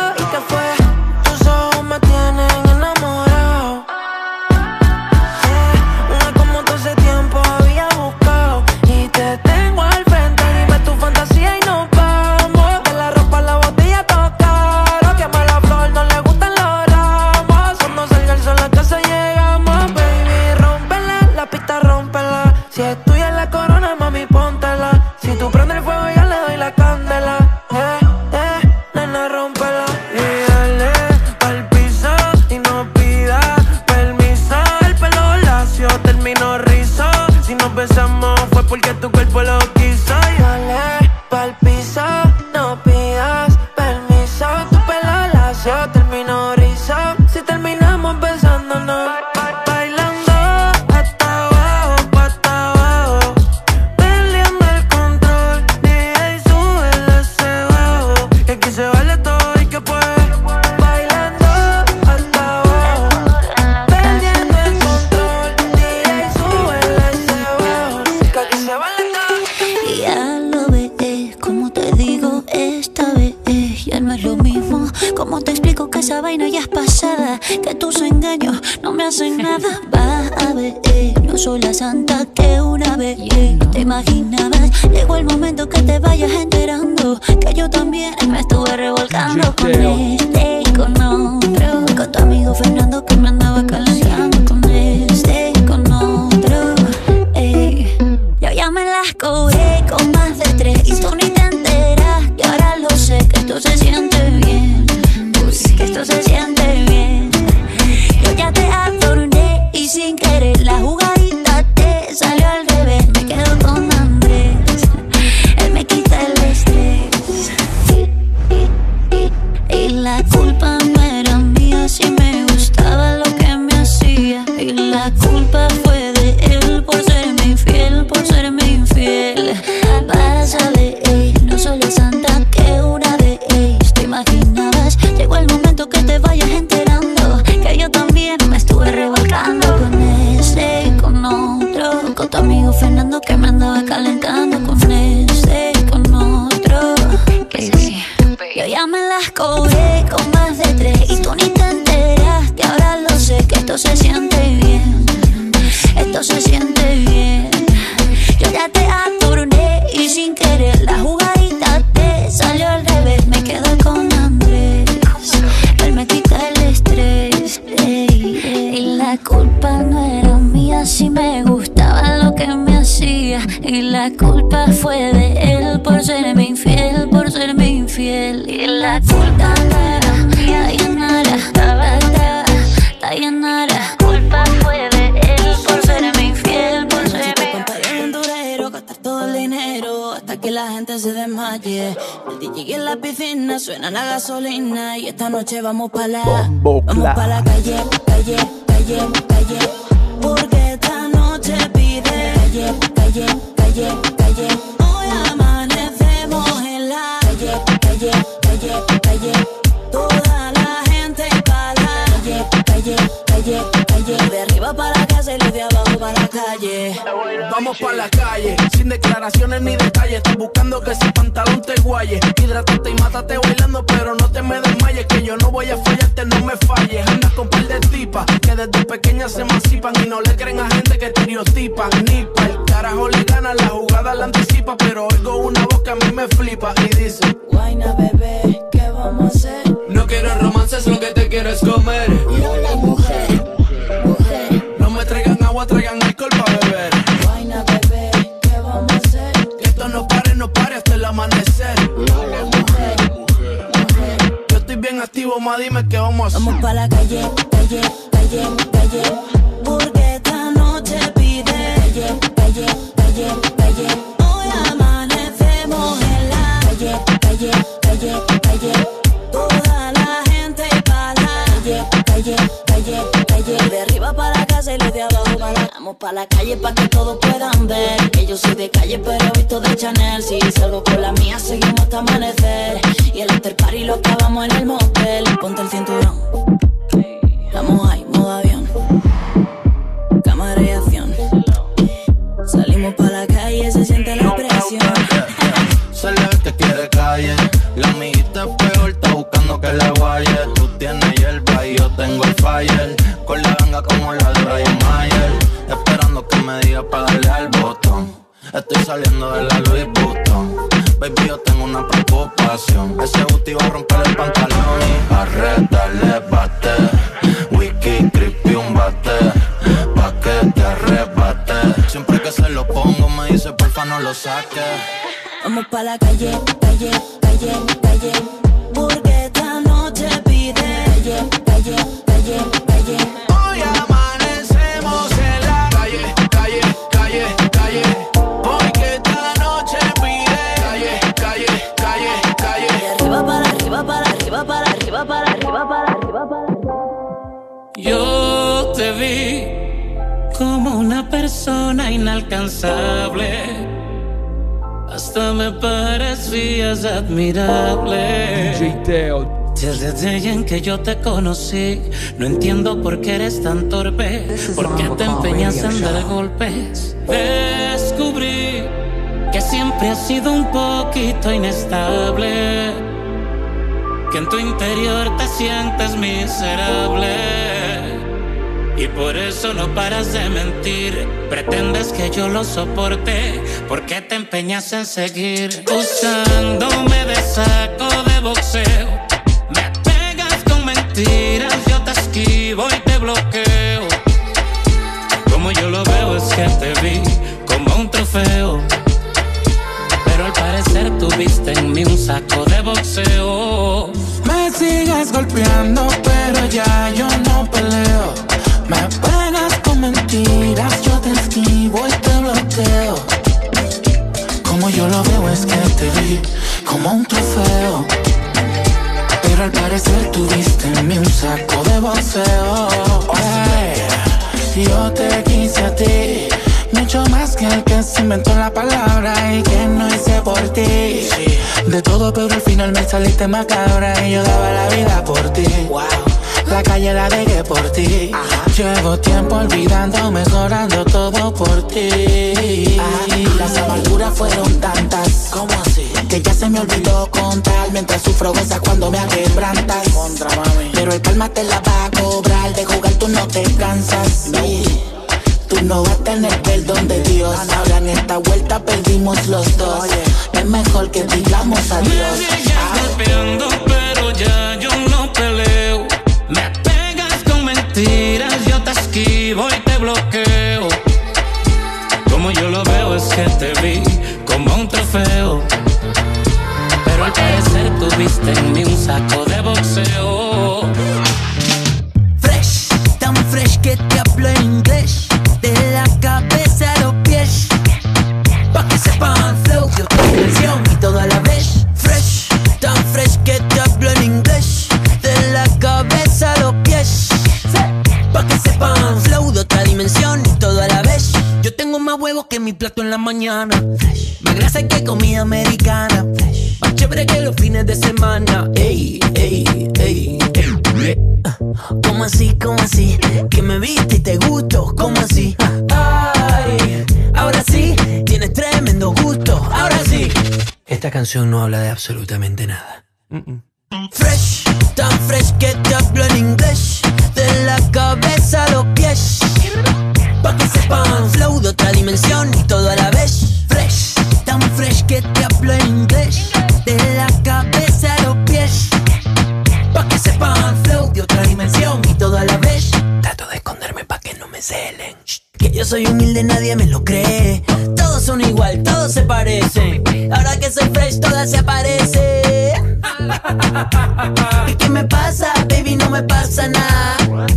que tus engaños no me hacen nada. Va a ver, eh, no soy la santa que una vez eh, te imaginabas. Llegó el momento que te vayas enterando que yo también me estuve revolcando con este y con otro, con tu amigo Fernando que me andaba calentando con este y con otro. Ey, yo ya me las cobré con más de tres y tú ni te enteras. Y ahora lo sé que esto se siente bien, uy, que esto se siente bien. Yo ya te adorné y sin querer la jugadita te salió al revés. Me quedo con Andrés, él me quita el estrés. Y la culpa no era mía, si me gustaba lo que me hacía. Y la culpa fue de él por serme infiel, por serme infiel. Pásale, ey, no soy la santa que una de ellos te imaginabas. Llegó el momento que te vayas enterando que yo también me estuve revolcando con este y con otro, con tu amigo Fernando que me andaba calentando con este y con otro. Baby, yo ya me las cobré con más de tres y tú ni te enteraste. Ahora lo sé que esto se siente bien, esto se siente bien. Yo ya te adorné y sin querer la jugadita te salió al revés. Me quedo con Andrés, él me quita el estrés. Ey, ey. Y la culpa no era mía, si me gustaba lo que me hacía. Y la culpa fue de él por serme infiel, por serme infiel. Y la culpa no era mía, Dayanara, Dayanara, Dayanara. La culpa fue de él por serme infiel, por serme infiel. Gastar todo el dinero hasta que la gente se desmaye. El D J en la piscina suena la gasolina y esta noche vamos pa' la, vamos pa' la calle, calle, calle, calle. Porque esta noche pide calle, calle, calle, calle. Hoy amanecemos en la calle, calle, calle, calle. Toda la gente pa' la calle, calle, calle, calle. De arriba para la casa y de abajo para la calle. Vamos pa' la calle, sin declaraciones ni detalles. Estás buscando que ese pantalón te guaye. Hidrátate y mátate bailando, pero no te me desmayes. Que yo no voy a fallarte, no me falles. Andas con par de tipas que desde pequeñas se emancipan y no le creen a gente que estereotipan. Ni pa' el carajo le gana, la jugada la anticipa. Pero oigo una voz que a mí me flipa y dice: Guayna bebé, ¿qué vamos a hacer? No quiero romances, lo que te quiero es comer. Yo la mujer, mujer. No me traigan agua, traigan alcohol pa' beber. Guayna bebé, ¿qué vamos a hacer? Que esto no pare, no pare hasta el amanecer. Yo la mujer, mujer. Yo estoy bien activo, ma, dime qué vamos a hacer. Vamos pa' la calle, calle, calle, calle. Porque esta noche pide calle, calle, calle, calle. Hoy amanecemos en la calle, calle, calle, calle. Toda la gente pa' la calle, calle, calle, calle. De arriba para la casa y los de abajo para la... Vamos pa' la calle pa' que todos puedan ver que yo soy de calle pero visto de Chanel. Si salgo con la mía seguimos hasta amanecer. Y el after party lo acabamos en el motel. Ponte el cinturón, estamos ahí, modo avión. Cámara y acción. Salimos pa' la calle, se siente la presión. Se le ve que quiere calle. La amiguita es peor, está buscando que le guaye. Tú tienes hierba y yo tengo el fire. Con la ganga como la de Brian Mayer. Esperando que me diga para darle al botón. Estoy saliendo de la Louis Vuitton. Baby, yo tengo una preocupación. Ese booty va a romper el pantalón y a retarle bate. Wiki, creepy, un bate. Pa' que te arrebate. Siempre que se lo pongo me dice porfa no lo saques. Vamos pa' la calle, calle, calle, calle. Porque esta noche pide calle, calle, calle, calle. Hoy amanecemos en la calle, calle, calle, calle. Porque esta noche pide calle, calle, calle, calle. De arriba para arriba, para arriba, para arriba, para arriba, para arriba, para arriba. Yo te vi como una persona inalcanzable. Hasta me parecías admirable. D J Teo. Desde el día en que yo te conocí, no entiendo por qué eres tan torpe, por qué te empeñas en dar golpes. Descubrí que siempre has sido un poquito inestable. que en tu interior te sientes miserable y por eso no paras de mentir. Pretendes que yo lo soporte porque te empeñas en seguir usándome de saco de boxeo. Me pegas con mentiras, yo te esquivo y te bloqueo. Como yo lo veo es que te vi como un trofeo, pero al parecer tuviste en mí un saco de boxeo. Me sigues golpeando, pero ya yo no peleo. Me pegas con mentiras, yo te esquivo y te bloqueo. Como yo lo veo es que te vi como un trofeo, pero al parecer tuviste en mí un saco de boxeo. Hey, yo te quise a ti mucho más que el que se inventó la palabra y que no hice por ti. De todo, pero al final me saliste macabra y yo daba la vida por ti. Wow. La calle la dejé por ti. Ajá. Llevo tiempo olvidando, mejorando todo por ti. Ajá. Las amarguras fueron tantas, ¿cómo así? Que ya se me olvidó contar. Mientras sufro gozas cuando me quebrantas. Contra mami. Pero el calma te la va a cobrar. De jugar tú no te cansas. No. Tú no vas a tener perdón de Dios. Ahora en esta vuelta perdimos los dos. Oye, es mejor que digamos adiós. Me sigues golpeando, pero ya yo no peleo. Me pegas con mentiras, yo te esquivo y te bloqueo. Como yo lo veo es que te vi como un trofeo, pero al parecer tuviste en mí un saco de boxeo. Fresh, tan fresh que te hablo en inglés, de la cabeza a los pies, pa' que sepan flow, yo te canción y todo a la vez. Fresh, tan fresh que te hablo en inglés, de la cabeza a los pies, pa' que sepan flow de otra dimensión y todo a la vez. Yo tengo más huevos que mi plato en la mañana, más grasa que comida americana, más chévere que los fines de semana. Ey, ey, ey, ey. ¿Cómo así, cómo así? Que me viste y te gusto, ¿cómo así? Ay, ahora sí, tienes tremendo gusto, ahora sí. Esta canción no habla de absolutamente nada. Mm-mm. Fresh, tan fresh que te hablo en inglés, de la cabeza a los pies, pa' que sepan flow de otra dimensión y todo a la vez. Fresh, tan fresh que te hablo en inglés, de la cabeza a los pies, pa' que sepan flow de otra dimensión y todo a la vez. Trato de esconderme pa' que no me celen. Que yo soy humilde, nadie me lo cree. Todos son igual, todos se parecen. Ahora que soy fresh, todas se aparecen. ¿Y qué me pasa, baby? No me pasa nada.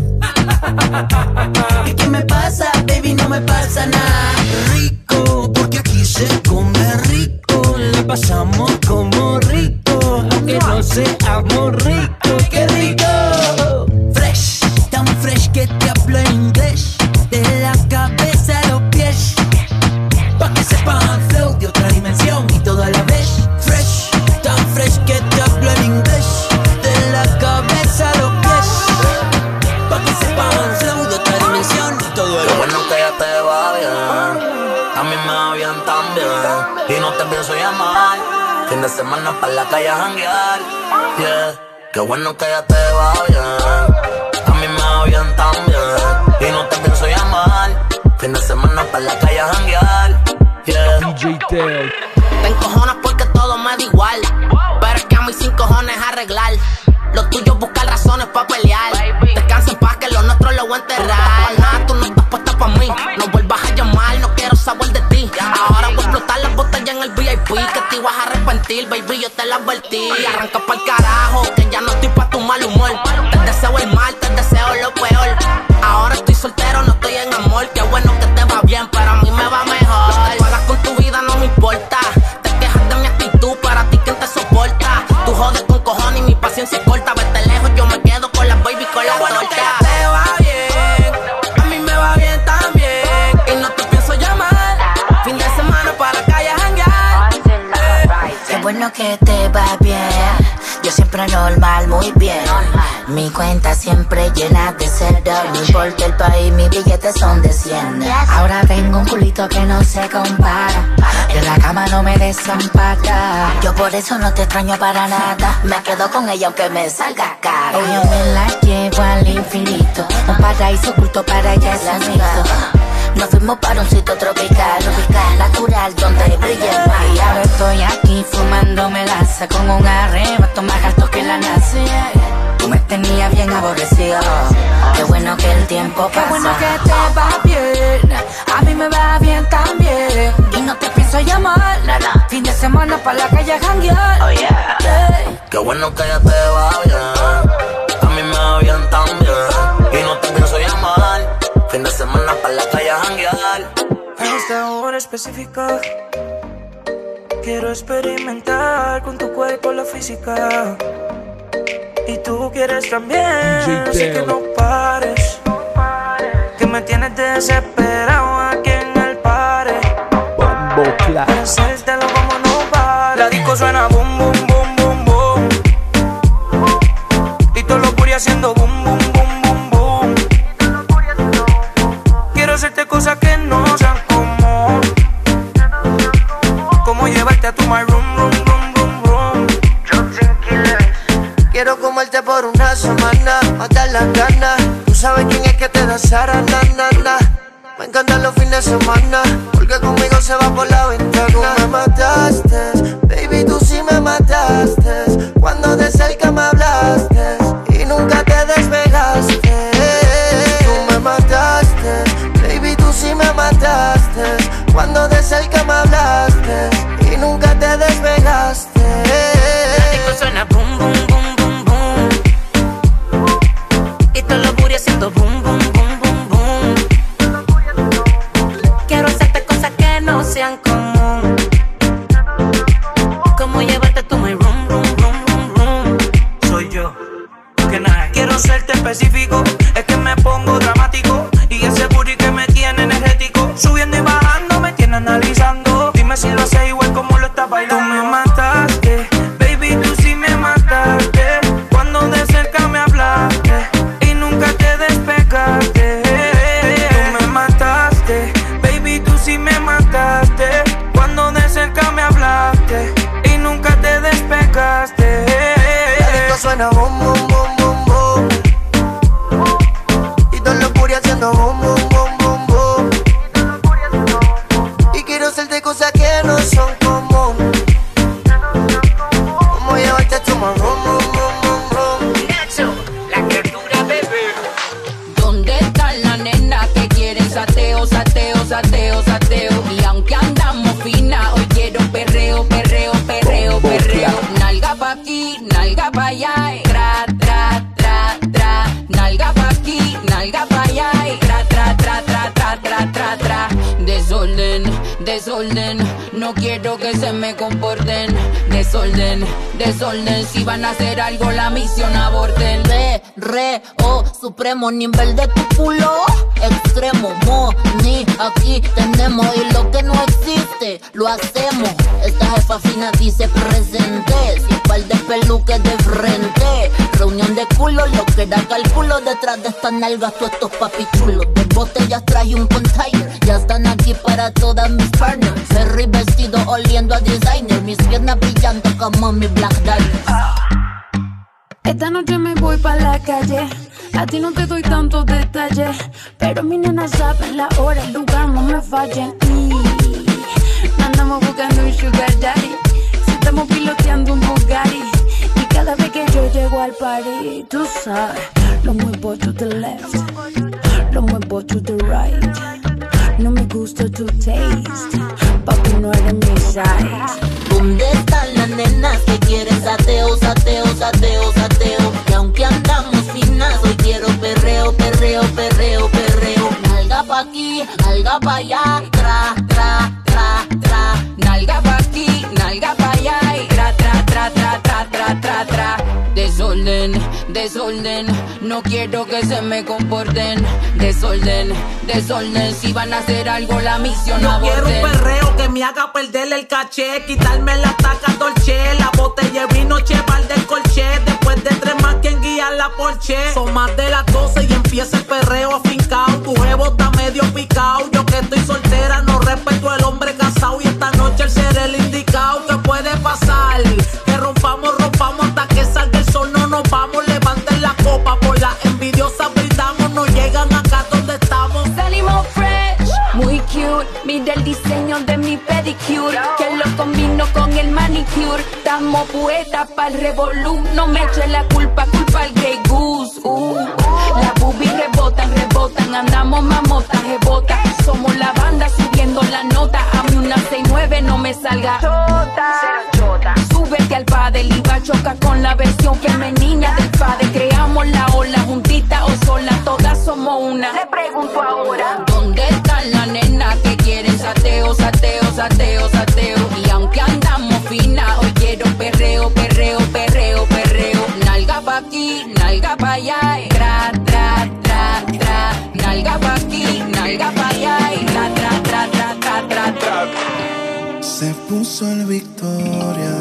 ¿Y qué me pasa, baby? No me pasa nada. Rico, porque aquí se come rico. Le pasamos como rico, aunque no seamos ricos. ¡Qué rico! Fresh, tan fresh que te hablo en inglés, de la cabeza a los pies, pa' que sepan flow de otra dimensión y todo a la vez. Fresh, tan fresh que te hablo en inglés, de la cabeza a los pies, pa' que sepan flow de otra dimensión y todo a la vez. Qué bueno que ya te va bien, a mí me va bien también, y no te pienso llamar. Fin de semana pa' la calle a janguear, yeah. Qué bueno que ya te va bien, a mí me va bien también, y no te pienso llamar. Fin de semana pa' la calle a janguear, yeah. D J Teo. Te encojonas porque todo me da igual, pero es que a mí sin cojones arreglar. Lo tuyo es buscar razones pa' pelear. Descansa en paz que lo nuestro lo voy a enterrar. Nada, tú no estás puesta pa' mí, no vuelvas a llamar, no quiero saber de ti. Ahora voy a explotar las botellas en el V I P, que te ibas a arrepentir, baby, yo te la advertí. Arranca pa'l carajo, que ya no estoy pa' tu mal humor. Te deseo el mal, te deseo lo peor. Ahora estoy soltero, no estoy en amor. Qué bueno que te va bien, pero a mí me va mejor. Tú hagas con tu vida, no me importa. Te quejas de mi actitud, para ti quién te soporta. Tú jodes con cojones y mi paciencia es corta. Vete lejos, yo me quedo con las baby, con la bueno torta. Que ya te va bien, a mí me va bien también, y no te pienso llamar. Fin de semana para la calle a janguear. Qué bueno que te va bien, Yo siempre normal, muy bien. Mi cuenta siempre llena de cero. No importa el país, mis billetes son de cien. Ahora tengo un culito que no se compara. En la cama no me desampara. Yo por eso no te extraño para nada. Me quedo con ella aunque me salga cara. Ella me la llevo al infinito. Un paraíso oculto para ella es amigo. Nos fuimos para un sitio tropical, tropical, natural, donde brilla el mar. Y ahora estoy aquí fumándome laza con un arrebato más alto que la NASA. Tú me tenías bien aborrecido. Qué bueno que el tiempo pasa. Qué bueno que te va bien. A mí me va bien también. Y no te pienso llamar. Nada. Fin de semana para la calle a janguear. Oh yeah. Hey. Qué bueno que ya te va bien. A mí me va bien también. Y no te pienso llamar. Fin de semana para la calle a janguear. En esta hora específica quiero experimentar con tu cuerpo la física. Y tú quieres también, así que no pares. Que me tienes desesperado aquí en el pare. Para hacértelo como no pare. La disco suena boom, boom, boom, boom, boom. Y todo lo puri haciendo boom, boom, boom, boom, boom. Quiero hacerte cosas que no sean común. Como llevarte a tu my room, room, room, room, room. Quiero comerte por una semana, matar las ganas. Tú sabes quién es que te da Sara, na, na, na. Me encantan los fines de semana, porque conmigo se va por la ventana. Tú me mataste, baby, tú sí me mataste. Cuando de cerca me hablaste y nunca te despegaste. Tú me mataste, baby, tú sí me mataste. Cuando de cerca me hablaste y nunca te despegaste. La disco suena boom, boom, boom, boom, boom. Y todo lo booty haciendo boom, boom, boom, boom, boom. Quiero hacerte cosas que no sean común. Como llevarte tu my room, room, room, room, room. Soy yo, que nada. Quiero serte específico, es que me pongo dramático. Y ese booty que me tiene energético. Subiendo y bajando me tiene analizando. Dime si lo haces igual como lo estás bailando. Tú me mataste, baby, tú sí me mataste. Cuando de cerca me hablaste y nunca te despegaste. Tú me mataste, baby, tú sí me mataste. Cuando de cerca me hablaste y nunca te despegaste. La disco suena boom, boom, boom, boom, boom. Y todos los puri haciendo boom, boom, boom, boom, boom. Y quiero hacerte cosas que no son común. Como llevarte a tu my room, room, room, room, room. Nacho, la criatura, bebé. ¿Dónde están las nenas que quieren sateo, sateo, sateo, sateo? Y aunque andamos fina, hoy quiero perreo, perreo, perreo, perreo. Nalga pa' aquí, nalga pa' allá, y tra, tra, tra, tra. Nalga pa' aquí, nalga pa' allá, y tra, tra, tra, tra, tra, tra, tra, tra. Desorden, desorden, no quiero que se me comporten. Desorden, desorden, si van a hacer algo la misión aborten. Re, re, oh, supremo nivel de tu culo. Extremo, mo, ni, aquí tenemos. Y lo que no existe, lo hacemos. Esta jefa fina dice presente. Sin par de peluques de frente. Reunión de culo, lo que da cálculo. Detrás de estas nalgas, todos estos papichulos. De botellas traje un container. Ya están aquí para todas mis partners. Ferry vestido oliendo a designer. Mis piernas brillando como mi Black Diamond. Esta noche me voy pa' la calle. A ti no te doy tantos detalles, pero mi nena saben la hora, el lugar, no me fallen. Y andamos buscando un sugar daddy. Si estamos piloteando un Bugatti. Y cada vez que yo llego al party, tú sabes, lo muevo to the left, lo muevo to the right. No me gusta tu taste, papi, no eres mi size. ¿Dónde están las nenas que quieren sateo, sateo, sateo, sateo? Y aunque andamos finas, hoy quiero perreo, perreo, perreo, perreo. Nalga pa' aquí, nalga pa' allá, tra, tra, tra, tra. Nalga pa' aquí, nalga pa' allá, y tra, tra, tra, tra, tra, tra, tra, tra. Desorden, Desorden, desorden, no quiero que se me comporten. Desorden, desorden, si van a hacer algo la misión no aborten. Quiero un perreo que me haga perder el caché, quitarme la taca dolce, la botella de vino cheval del colché. Después de tres más quien guía la Porsche. Son más de las doce y empieza el perreo afincao. Tu jevo está medio picao, yo que estoy soltera no respeto al hombre casado. Y esta noche el ser el indicado. ¿Qué puede pasar? Que rompamos, rompamos hasta que salga el sol. No nos vamos, levanten la copa. Por la envidiosa brindamos, no llegan acá donde estamos. Salimos fresh, muy cute. Mira el diseño de mi pedicure, que lo combino con el manicure. Estamos poetas pa'l revolú. No me eche la culpa, culpa al Grey Goose. Uh. Las boobies rebotan, rebotan. Andamos mamotas, rebota. Somos la banda subiendo la nota. A mí una seis nueve no me salga chota. Súbete al padel y va a chocar con la versión femenina del padre. Creamos la ola, juntita o sola, todas somos una. Le pregunto ahora, ¿dónde están las nenas que quieren sateo, sateo, sateo, sateo? Y aunque andamos fina, hoy quiero perreo, perreo, perreo, perreo. Nalga pa' aquí, nalga pa' allá, y tra, tra, tra, tra. Nalga pa' aquí, nalga pa' allá, y tra, tra, tra, tra, tra, tra, tra. Se puso el Victoria,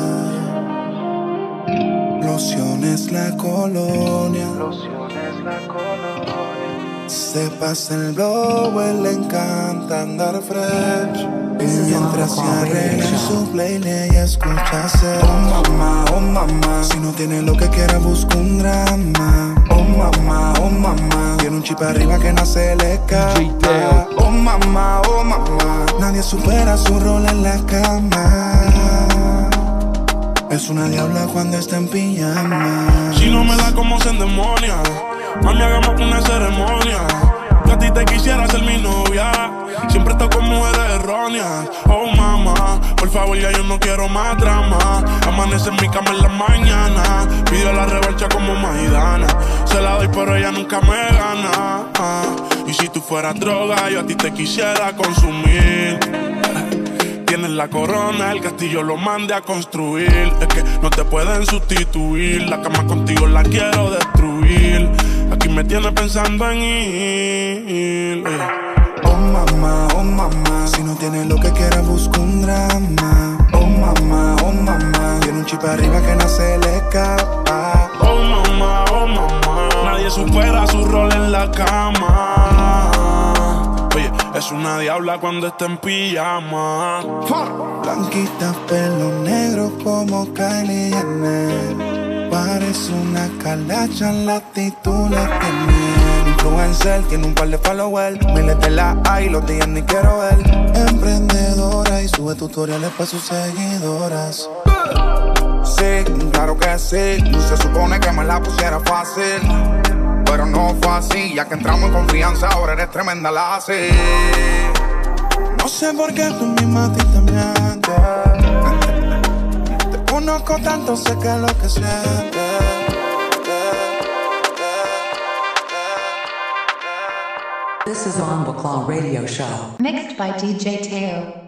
lociones la colonia, lociones la colonia. Se pasa el blow, él le encanta andar fresh. Y mientras se arregla en su playlist y escucha hacer oh mamá, oh mamá. Si no tiene lo que quiera busca un drama. Oh mamá, oh mamá. Tiene un chip arriba que no se le escapa. Oh mamá, oh mamá. Nadie supera su rol en la cama. Es una diabla cuando está en pijama. Si no me da como se endemonia, mami hagamos una ceremonia. Que a ti te quisiera ser mi novia. Siempre estoy con mujeres erróneas. Oh mamá, por favor ya yo no quiero más drama. Amanece en mi cama en la mañana. Pido la revancha como Maidana. Se la doy pero ella nunca me gana. Ah, y si tú fueras droga yo a ti te quisiera consumir. Tienes la corona, el castillo lo mandé a construir. Es que no te pueden sustituir. La cama contigo la quiero destruir. Aquí me tienes pensando en ir. Oh mamá, oh mamá. Si no tienes lo que quiera busca un drama. Oh mamá, oh mamá. Tiene un chip arriba que no se le escapa. Oh mamá, oh mamá. Nadie supera su rol en la cama. Oye, es una diabla cuando está en pijama. Blanquita, pelo negro como Kylie Jenner. Parece una calacha, la actitud la tiene. Influencer, tiene un par de followers. Miles de la hay, los días ni quiero ver. Emprendedora y sube tutoriales para sus seguidoras. Sí, claro que sí. Se supone que me la pusiera fácil, pero no fue así. Ya que entramos en confianza, ahora eres tremenda la así. No sé por qué tú misma a ti te mientes. Te conozco tanto, sé que es lo que sientes. This is Bomba Claw Radio Show. Mixed by D J Teo.